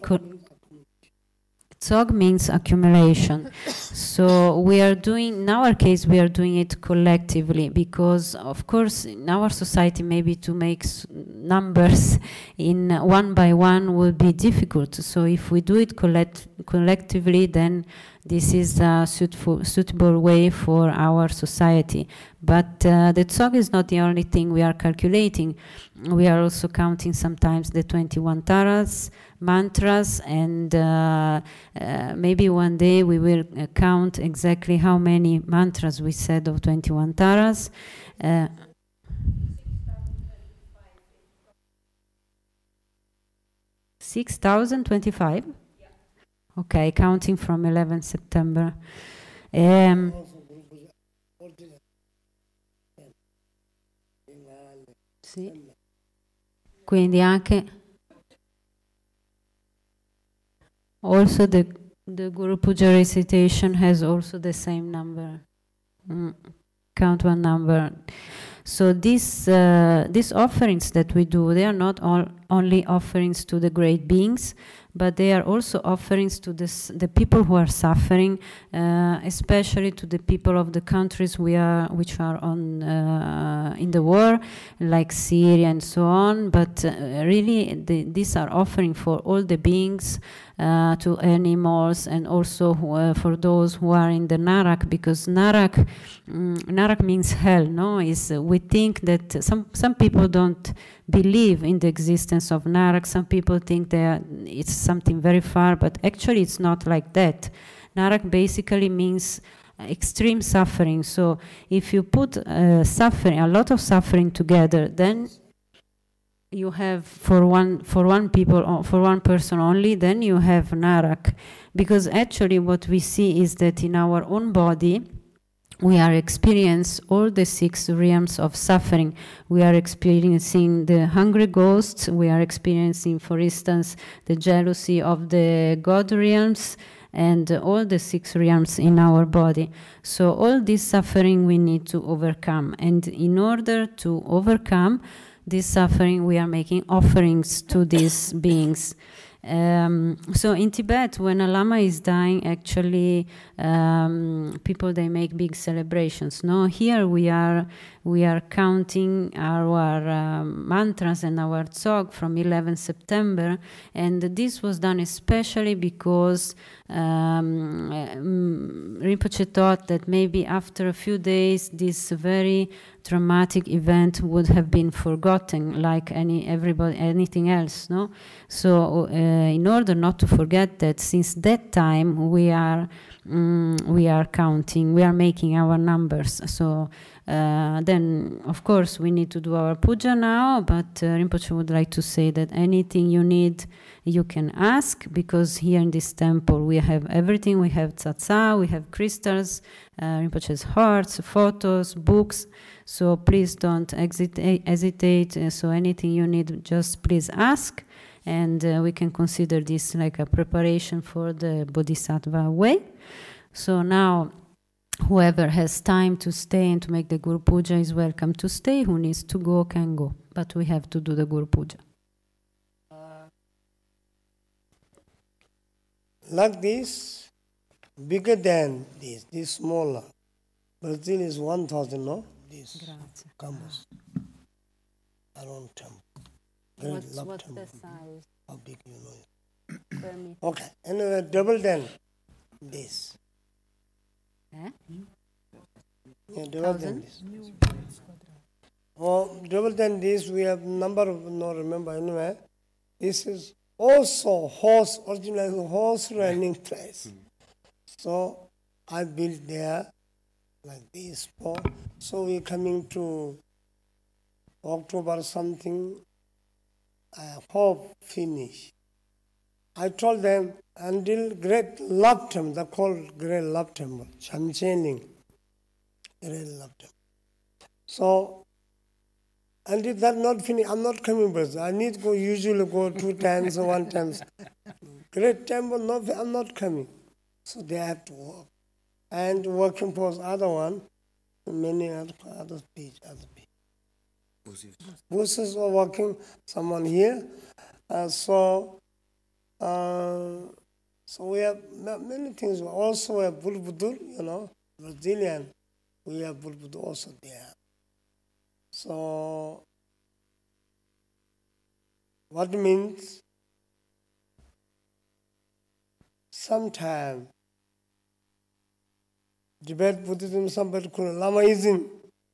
Tsog means accumulation. So we are doing, in our case, we are doing it collectively because, of course, in our society, maybe to make numbers in one by one would be difficult. So if we do it collect collectively, then this is a suitable, suitable way for our society. But uh, the Tsog is not the only thing we are calculating. We are also counting sometimes the twenty-one taras, mantras, and uh, uh, maybe one day we will uh, count exactly how many mantras we said of twenty-one taras. Uh, six thousand twenty-five? Okay, counting from eleventh September. Um, sì. Quindi anche also the the Guru Puja recitation has also the same number. Mm. Count one number. So these uh, these offerings that we do, they are not all only offerings to the great beings, but they are also offerings to this, the people who are suffering, uh, especially to the people of the countries we are, which are on uh, in the war, like Syria and so on. But uh, really, the, these are offering for all the beings, uh, to animals, and also who, uh, for those who are in the Narak, because Narak, um, Narak means hell. No, is uh, we think that some some people don't believe in the existence of Narak. Some people think that it's something very far, but actually it's not like that. Narak basically means extreme suffering. So if you put uh, suffering, a lot of suffering together, then you have for one for one people for one person only, then you have Narak. Because actually what we see is that in our own body we are experiencing all the six realms of suffering. We are experiencing the hungry ghosts. We are experiencing, for instance, the jealousy of the God realms, and uh, all the six realms in our body. So all this suffering we need to overcome. And in order to overcome this suffering, we are making offerings to these beings. Um, so in Tibet, when a lama is dying, actually um, people, they make big celebrations. No, here we are we are counting our um, mantras and our tsog from eleventh September, and this was done especially because um, um, Rinpoche thought that maybe after a few days this very traumatic event would have been forgotten, like any everybody anything else. No, so uh, in order not to forget that, since that time we are um, we are counting, we are making our numbers. So uh, then, of course, we need to do our puja now. But uh, Rinpoche would like to say that anything you need, you can ask, because here in this temple we have everything. We have tsatsa, we have crystals, uh, Rinpoche's hearts, photos, books. So please don't hesitate. Uh, so anything you need, just please ask, and uh, we can consider this like a preparation for the Bodhisattva way. So now, whoever has time to stay and to make the Guru Puja is welcome to stay. Who needs to go can go, but we have to do the Guru Puja. Like this, bigger than this, this smaller. Brazil is one thousand, no? This Grazie. campus. Around temple. Great What's, love what's temple. the size? How big you know? Per meter. Okay, anyway, double than this. Eh? Yeah, double than this. Oh, double than this, we have number of, no remember, anyway. This is also horse, original horse running place. So I built there like this. For, so we coming to October something, I hope finish. I told them until great love temple, they called great love temple, Chamchening, great love temple. So Until that not finished, I'm not coming back. I need to go, usually go two times or one times. Great temple, no, I'm not coming. So they have to work. And working for other one, many other, other speech, other people. Buses are working, someone here. Uh, so, uh, so we have many things. Also we have Bulbudur, you know, Brazilian. We have Bulbudur also there. So, what means? Sometime debate Buddhism, somebody called Lamaism,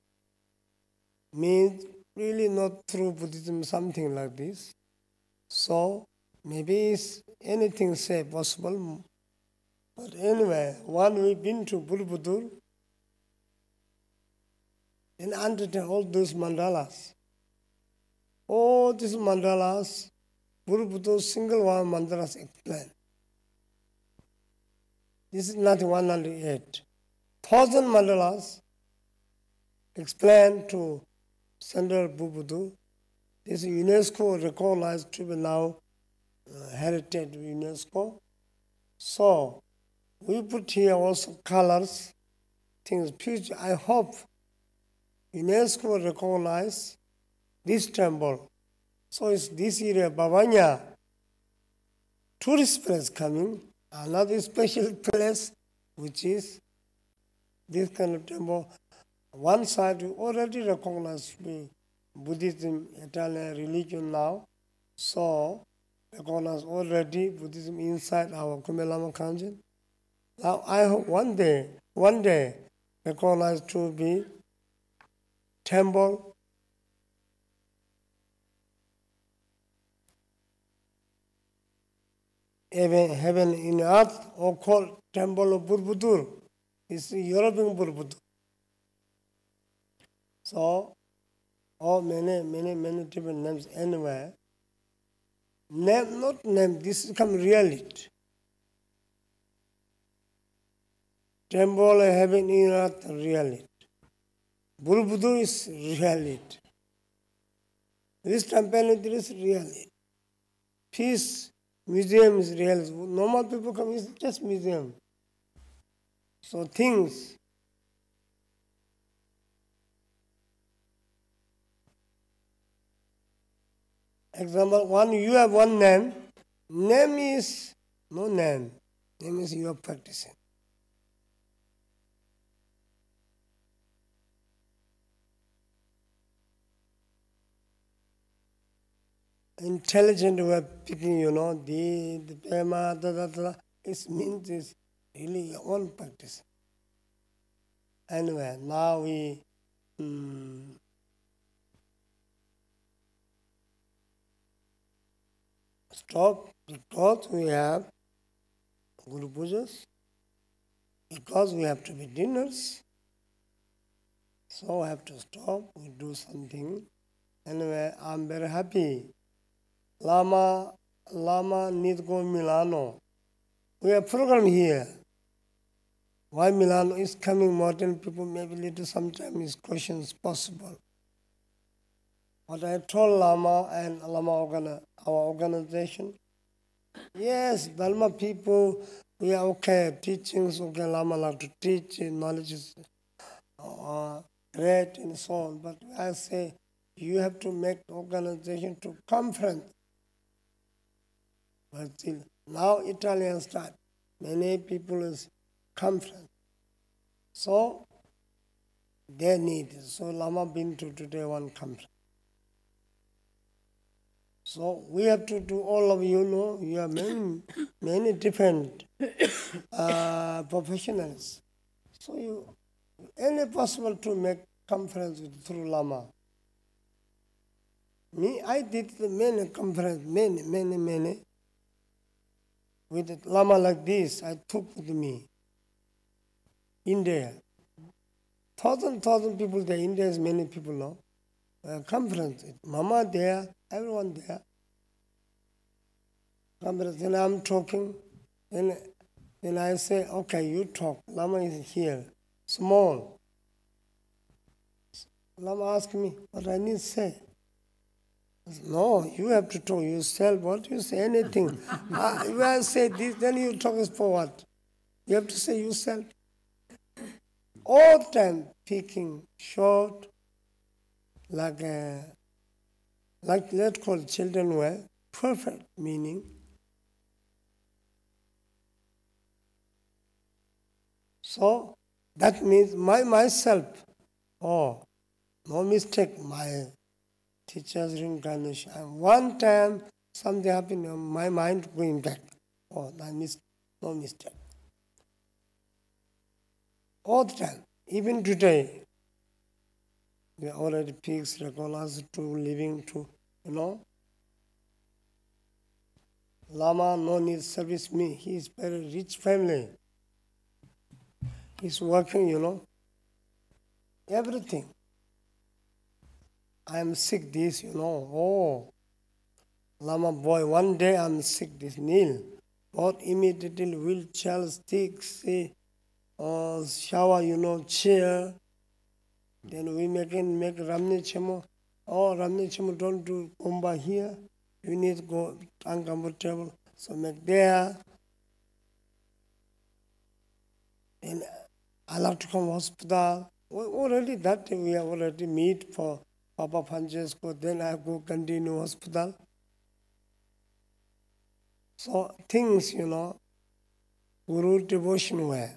means really not true Buddhism, something like this. So maybe it's anything say possible. But anyway, when we've been to Borobudur, and undertake all those mandalas, all these mandalas, Borobudur single one mandalas explained. This is not one hundred eight. Thousand mandalas explained to Central Borobudur. This is UNESCO recognized to be now uh, heritage UNESCO. So we put here also colors, things, future. I hope UNESCO recognize this temple. So it's this area, Bavanya, tourist place coming, another special place, which is this kind of temple. One side we already recognize the Buddhism, Italian religion now. So recognize already Buddhism inside our Kumbhe Lama Kanjen. Now I hope one day, one day, recognize to be temple heaven, heaven in earth, or called Temple of Borobudur. It's European Borobudur. So, all many, many, many different names anywhere. Name, not name, this is come reality. Temple of heaven in earth, reality. Borobudur is reality. This temple is reality. Peace museum is reality. Normal people come, it's just museum. So things. Example one, you have one name. Name is no name. Name is you are practicing. Intelligent way of picking, you know, the, the pema, da, da, da, it means it's really your own practice. Anyway, now we um, stop because we have Guru Pujas, because we have to be dinners, so I have to stop, we do something. Anyway, I'm very happy. Lama, Lama need go Milano. We have program here. Why Milano is coming more than people, maybe little sometimes questions possible. But I told Lama and Lama organ, our organization, yes, Dharma people, we are okay, teachings, okay, Lama like to teach, knowledge is uh, great and so on. But I say, you have to make the organization to conference. But still, now Italian start. Many people is conference. So they need it. So Lama been to today one conference. So we have to do, all of you know, you are many, many different uh, professionals. So you, any possible to make conference with, through Lama. Me, I did many conference, many, many, many. With a Lama like this, I took with me. India. Thousand, thousand people there. India is many people now. Uh, conference. Mama there, everyone there. Conference. Then I'm talking. Then, then I say, okay, you talk. Lama is here. Small. Lama asked me what I need to say. I said, no, you have to talk yourself. What you say, anything. uh, if I say this, then you talk is for what? You have to say yourself. All the time speaking short, like a, like let's call children were perfect meaning. So that means my myself, oh, no mistake, my teacher's reincarnation. And one time something happened, my mind going back. Oh, I missed, no mistake. All the time, even today, we are already fixed, recognized to living to, you know. Lama no need service me. He is very rich family. He's working, you know, everything. I am sick this, you know. Oh, Lama boy, one day I'm sick this, kneel. But immediately wheelchair, stick, say, uh, shower, you know, chair. Then we make make Ramne Chemo. Oh, Ramne Chemo, don't do Kumba here. You need to go uncomfortable. So make there. Then I'll have to come hospital. Already that day we have already meet for Papa Francesco. Then I go continue hospital. So things, you know, Guru devotion were.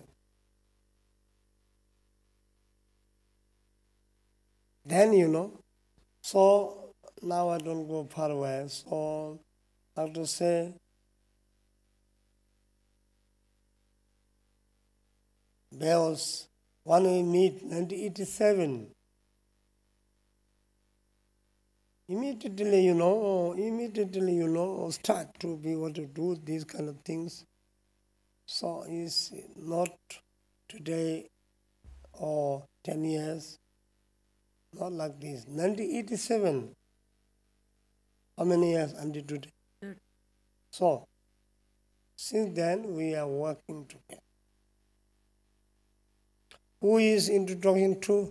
Then, you know, so now I don't go far away. So I have to say, bells, when we meet nineteen eighty-seven, immediately, you know, immediately, you know, start to be able to do these kind of things. So it's not today or ten years, not like this. nineteen eighty-seven, how many years until today? Mm. So, since then we are working together. Who is into talking to?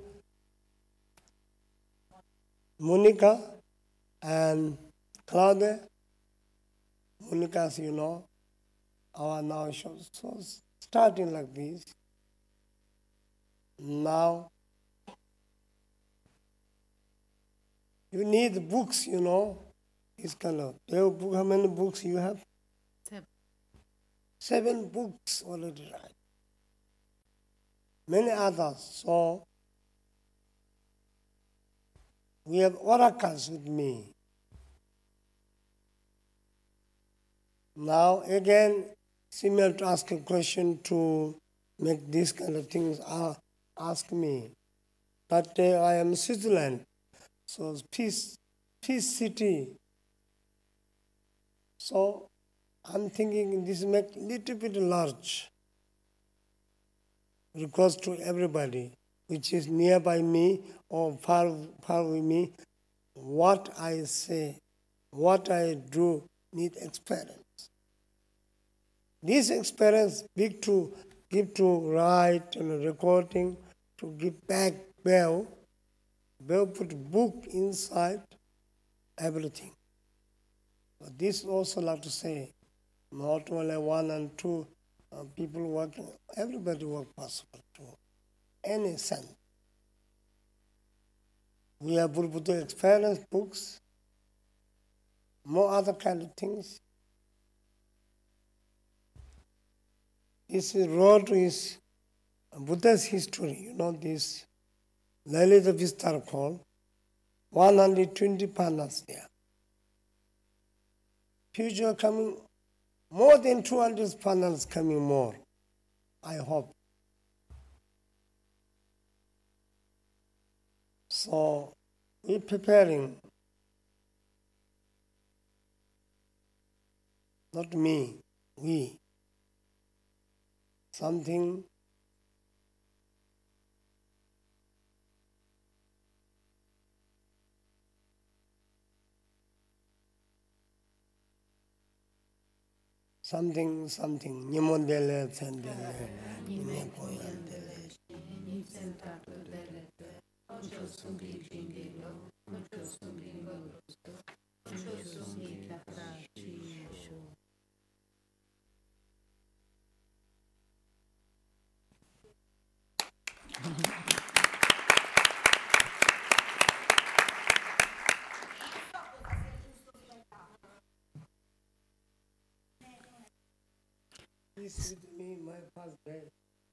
Monica and Claudia. Monica's, you know, our now shows. So starting like this. Now, you need books, you know. This kind of. Do you have book? How many books you have? Seven. Seven books already right. Many others. So we have oracles with me. Now again, similar to ask a question to make these kind of things, uh, ask me. That day I am Switzerland, so peace, peace city. So I'm thinking this make little bit large. Request to everybody, which is nearby me or far, far with me, what I say, what I do, need experience. This experience, big to give to write and recording, to give back Bell. Bell put book inside, everything. But this also like to say, not only one and two uh, people working, everybody work possible to any sense. We have Buddha experience books, more other kind of things. This is road is Buddha's history, you know, this Lalita Vistar called one hundred twenty panels there. Future coming, more than two hundred panels coming more, I hope. So we're preparing, not me, we, something something, something, Nyamondele, Sendele, Nyepoyandele. Please with me my first day.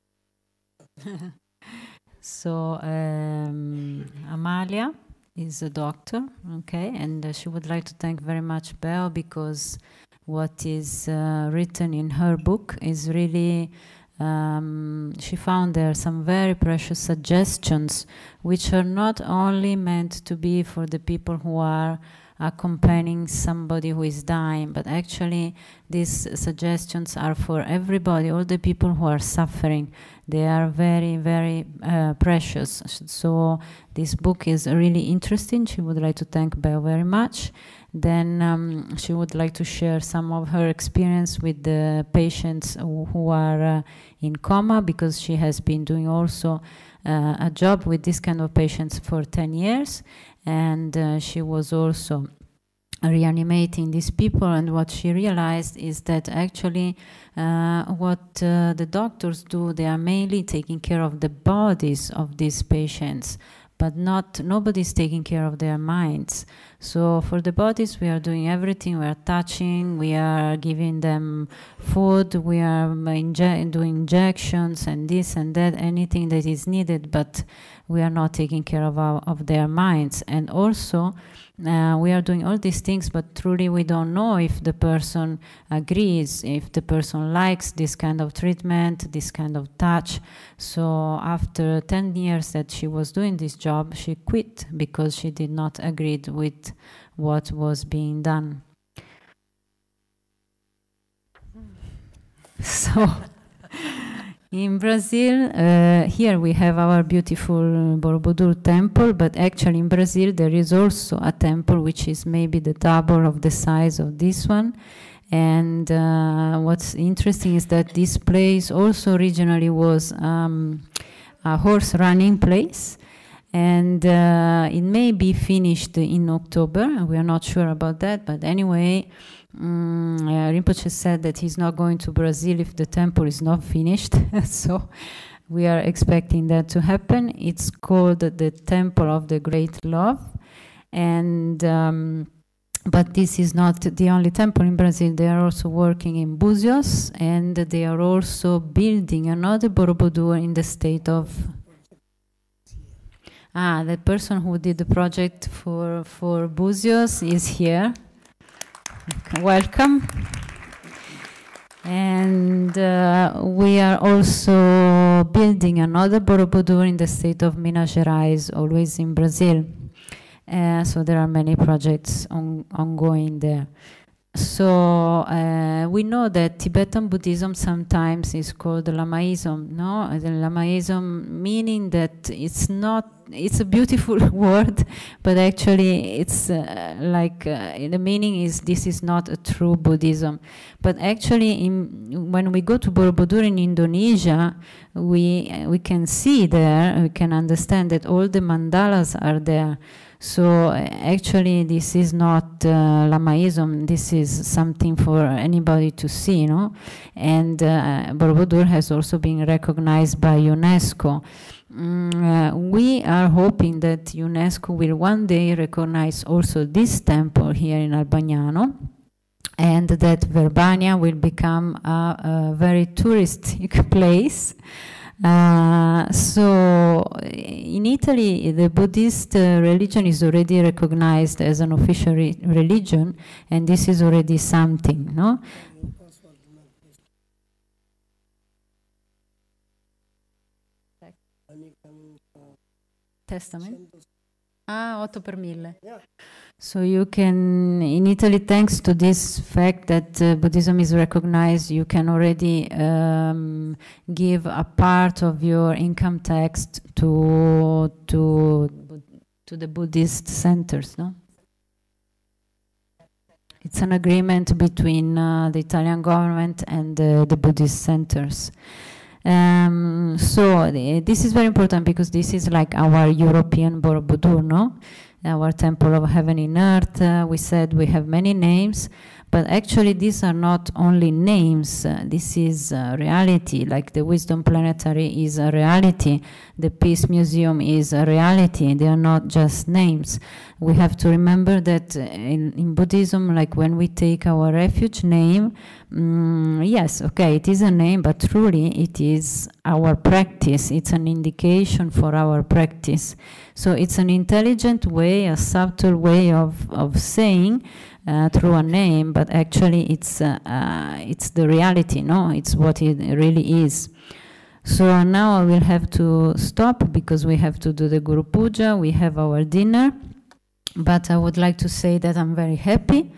So um, Amalia is a doctor, okay, and uh, she would like to thank very much Beo because what is uh, written in her book is really, um, she found there some very precious suggestions which are not only meant to be for the people who are accompanying somebody who is dying, but actually these suggestions are for everybody, all the people who are suffering. They are very, very uh, precious. So this book is really interesting. She would like to thank Beo very much. Then um, she would like to share some of her experience with the patients who, who are uh, in coma, because she has been doing also uh, a job with this kind of patients for ten years. And uh, she was also reanimating these people, and what she realized is that actually uh, what uh, the doctors do, they are mainly taking care of the bodies of these patients, but not nobody's taking care of their minds. So for the bodies, we are doing everything. We are touching, we are giving them food, we are inje doing injections and this and that, anything that is needed, but we are not taking care of, our, of their minds. And also, uh, we are doing all these things, but truly we don't know if the person agrees, if the person likes this kind of treatment, this kind of touch. So after ten years that she was doing this job, she quit because she did not agree with what was being done. So in Brazil, uh, here we have our beautiful Borobudur temple, but actually in Brazil there is also a temple which is maybe the double of the size of this one. And uh, what's interesting is that this place also originally was um, a horse running place. And uh, it may be finished in October. We are not sure about that, but anyway, um, uh, Rinpoche said that he's not going to Brazil if the temple is not finished. So we are expecting that to happen. It's called the Temple of the Great Love. And um, but this is not the only temple in Brazil. They are also working in Búzios, and they are also building another Borobudur in the state of... Ah, the person who did the project for, for Búzios is here. Welcome. And uh, we are also building another Borobudur in the state of Minas Gerais, always in Brazil. Uh, so there are many projects on, ongoing there. So uh, we know that Tibetan Buddhism sometimes is called Lamaism, no? The Lamaism meaning that it's not, it's a beautiful word, but actually it's uh, like, uh, the meaning is this is not a true Buddhism. But actually in, when we go to Borobudur in Indonesia, we, uh, we can see there, we can understand that all the mandalas are there. So uh, actually this is not uh, Lamaism, this is something for anybody to see, no? And uh, Borobudur has also been recognized by UNESCO. Mm, uh, we are hoping that UNESCO will one day recognize also this temple here in Albagnano, and that Verbania will become a, a very touristic place. Uh, so in Italy, the Buddhist uh, religion is already recognized as an official re religion, and this is already something, no? Testament? Ah, otto per mille. Yeah. So you can, in Italy, thanks to this fact that uh, Buddhism is recognized, you can already um, give a part of your income tax to to to the Buddhist centers, no? It's an agreement between uh, the Italian government and uh, the Buddhist centers. Um, so the, this is very important because this is like our European Borobudur, no? Our temple of heaven in earth. Uh, we said we have many names, but actually these are not only names. Uh, this is uh, reality. Like the Wisdom Planetary is a reality. The Peace Museum is a reality. They are not just names. We have to remember that in, in Buddhism, like when we take our refuge name, mm, yes, okay, it is a name, but truly it is our practice. It's an indication for our practice. So it's an intelligent way, a subtle way of, of saying uh, through a name, but actually it's, uh, uh, it's the reality, no? It's what it really is. So now I will have to stop because we have to do the Guru Puja, we have our dinner. But I would like to say that I'm very happy.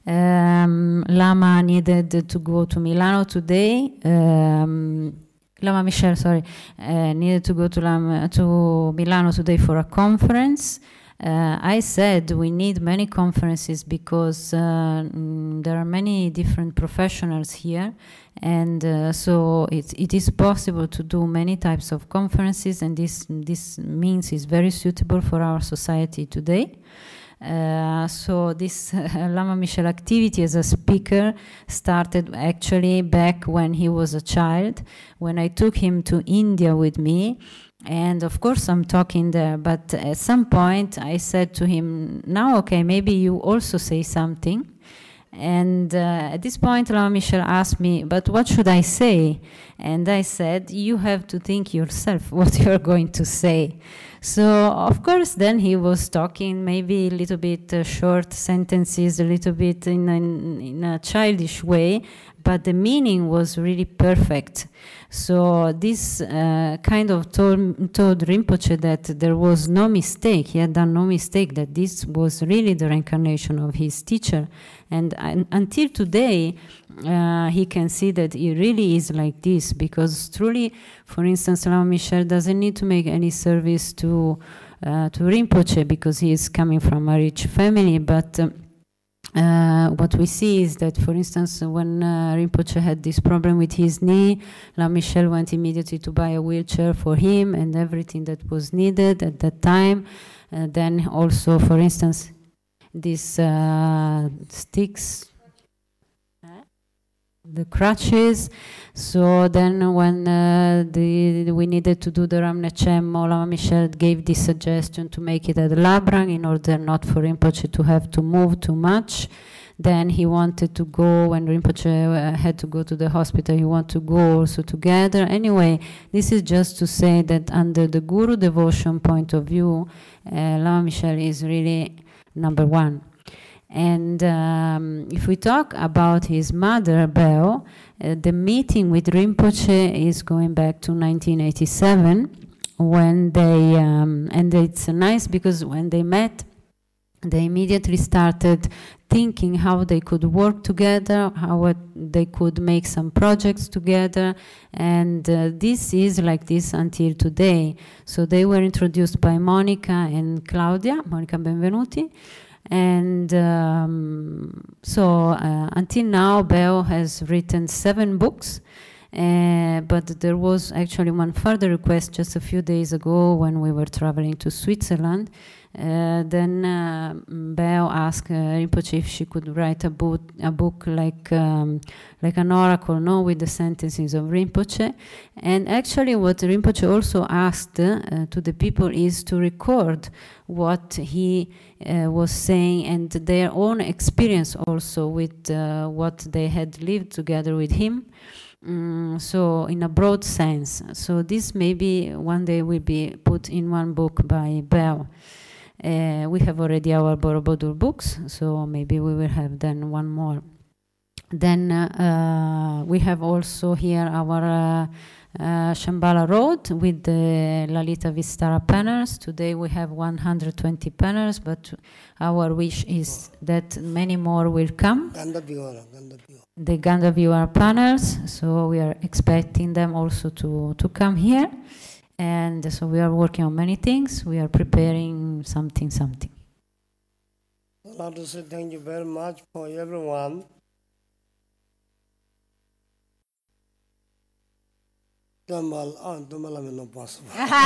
Um, Lama needed to go to Milano today. Um, Lama Michel, sorry, uh, needed to go to, Lama, to Milano today for a conference. Uh, I said we need many conferences because uh, mm, there are many different professionals here, and uh, so it, it is possible to do many types of conferences, and this, this means is very suitable for our society today. Uh, so this uh, Lama Michel activity as a speaker started actually back when he was a child, when I took him to India with me. And of course I'm talking there, but at some point I said to him, now okay, maybe you also say something. And uh, at this point Lama Michel asked me, but what should I say? And I said, you have to think yourself what you're going to say. So of course then he was talking maybe a little bit uh, short sentences, a little bit in a, in a childish way, but the meaning was really perfect. So this uh, kind of told, told Rinpoche that there was no mistake, he had done no mistake, that this was really the reincarnation of his teacher. And uh, until today, uh, he can see that it really is like this, because truly, for instance, Lama Michel doesn't need to make any service to, uh, to Rinpoche because he is coming from a rich family, but um, Uh, what we see is that, for instance, when uh, Rinpoche had this problem with his knee, Lama Michel went immediately to buy a wheelchair for him and everything that was needed at that time. Uh, then also, for instance, these uh, sticks, the crutches. So then when uh, the, we needed to do the Ramnechem, Lama Michel gave this suggestion to make it at Labrang in order not for Rinpoche to have to move too much. Then he wanted to go, when Rinpoche uh, had to go to the hospital, he wanted to go also together. Anyway, this is just to say that under the Guru devotion point of view, uh, Lama Michel is really number one. And um, if we talk about his mother, Beo, uh, the meeting with Rinpoche is going back to nineteen eighty-seven, when they, um, and it's nice because when they met, they immediately started thinking how they could work together, how it, they could make some projects together, and uh, this is like this until today. So they were introduced by Monica and Claudia, Monica Benvenuti. And um, so uh, until now, Beo has written seven books, uh, but there was actually one further request just a few days ago when we were traveling to Switzerland. Uh, then uh, Beo asked uh, Rinpoche if she could write a book, a book like um, like an oracle, no, with the sentences of Rinpoche. And actually, what Rinpoche also asked uh, to the people is to record what he uh, was saying and their own experience also with uh, what they had lived together with him. Mm, so in a broad sense. So this maybe one day will be put in one book by Beo. Uh, we have already our Borobudur books, so maybe we will have then one more. Then uh, uh, we have also here our uh, uh, Shambhala Road with the Lalita Vistara panels. Today we have one hundred twenty panels, but our wish is that many more will come. The Gandhaviyara panels, so we are expecting them also to, to come here. And so we are working on many things. We are preparing something, something. I'd like to say thank you very much for everyone. Tambal, ah, tambal non posso.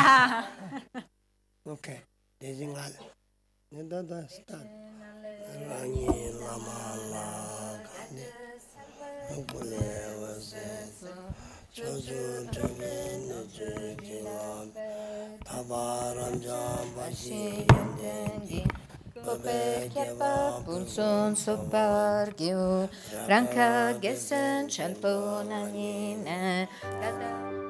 Ok, desingal. Da da sta. Rani lama la kane. Ukule wase. Chozu tamen jikila. Tabaram jambashi yendengi. Kope kyapa pulson sopargyo. Ranka gesen chalponanine.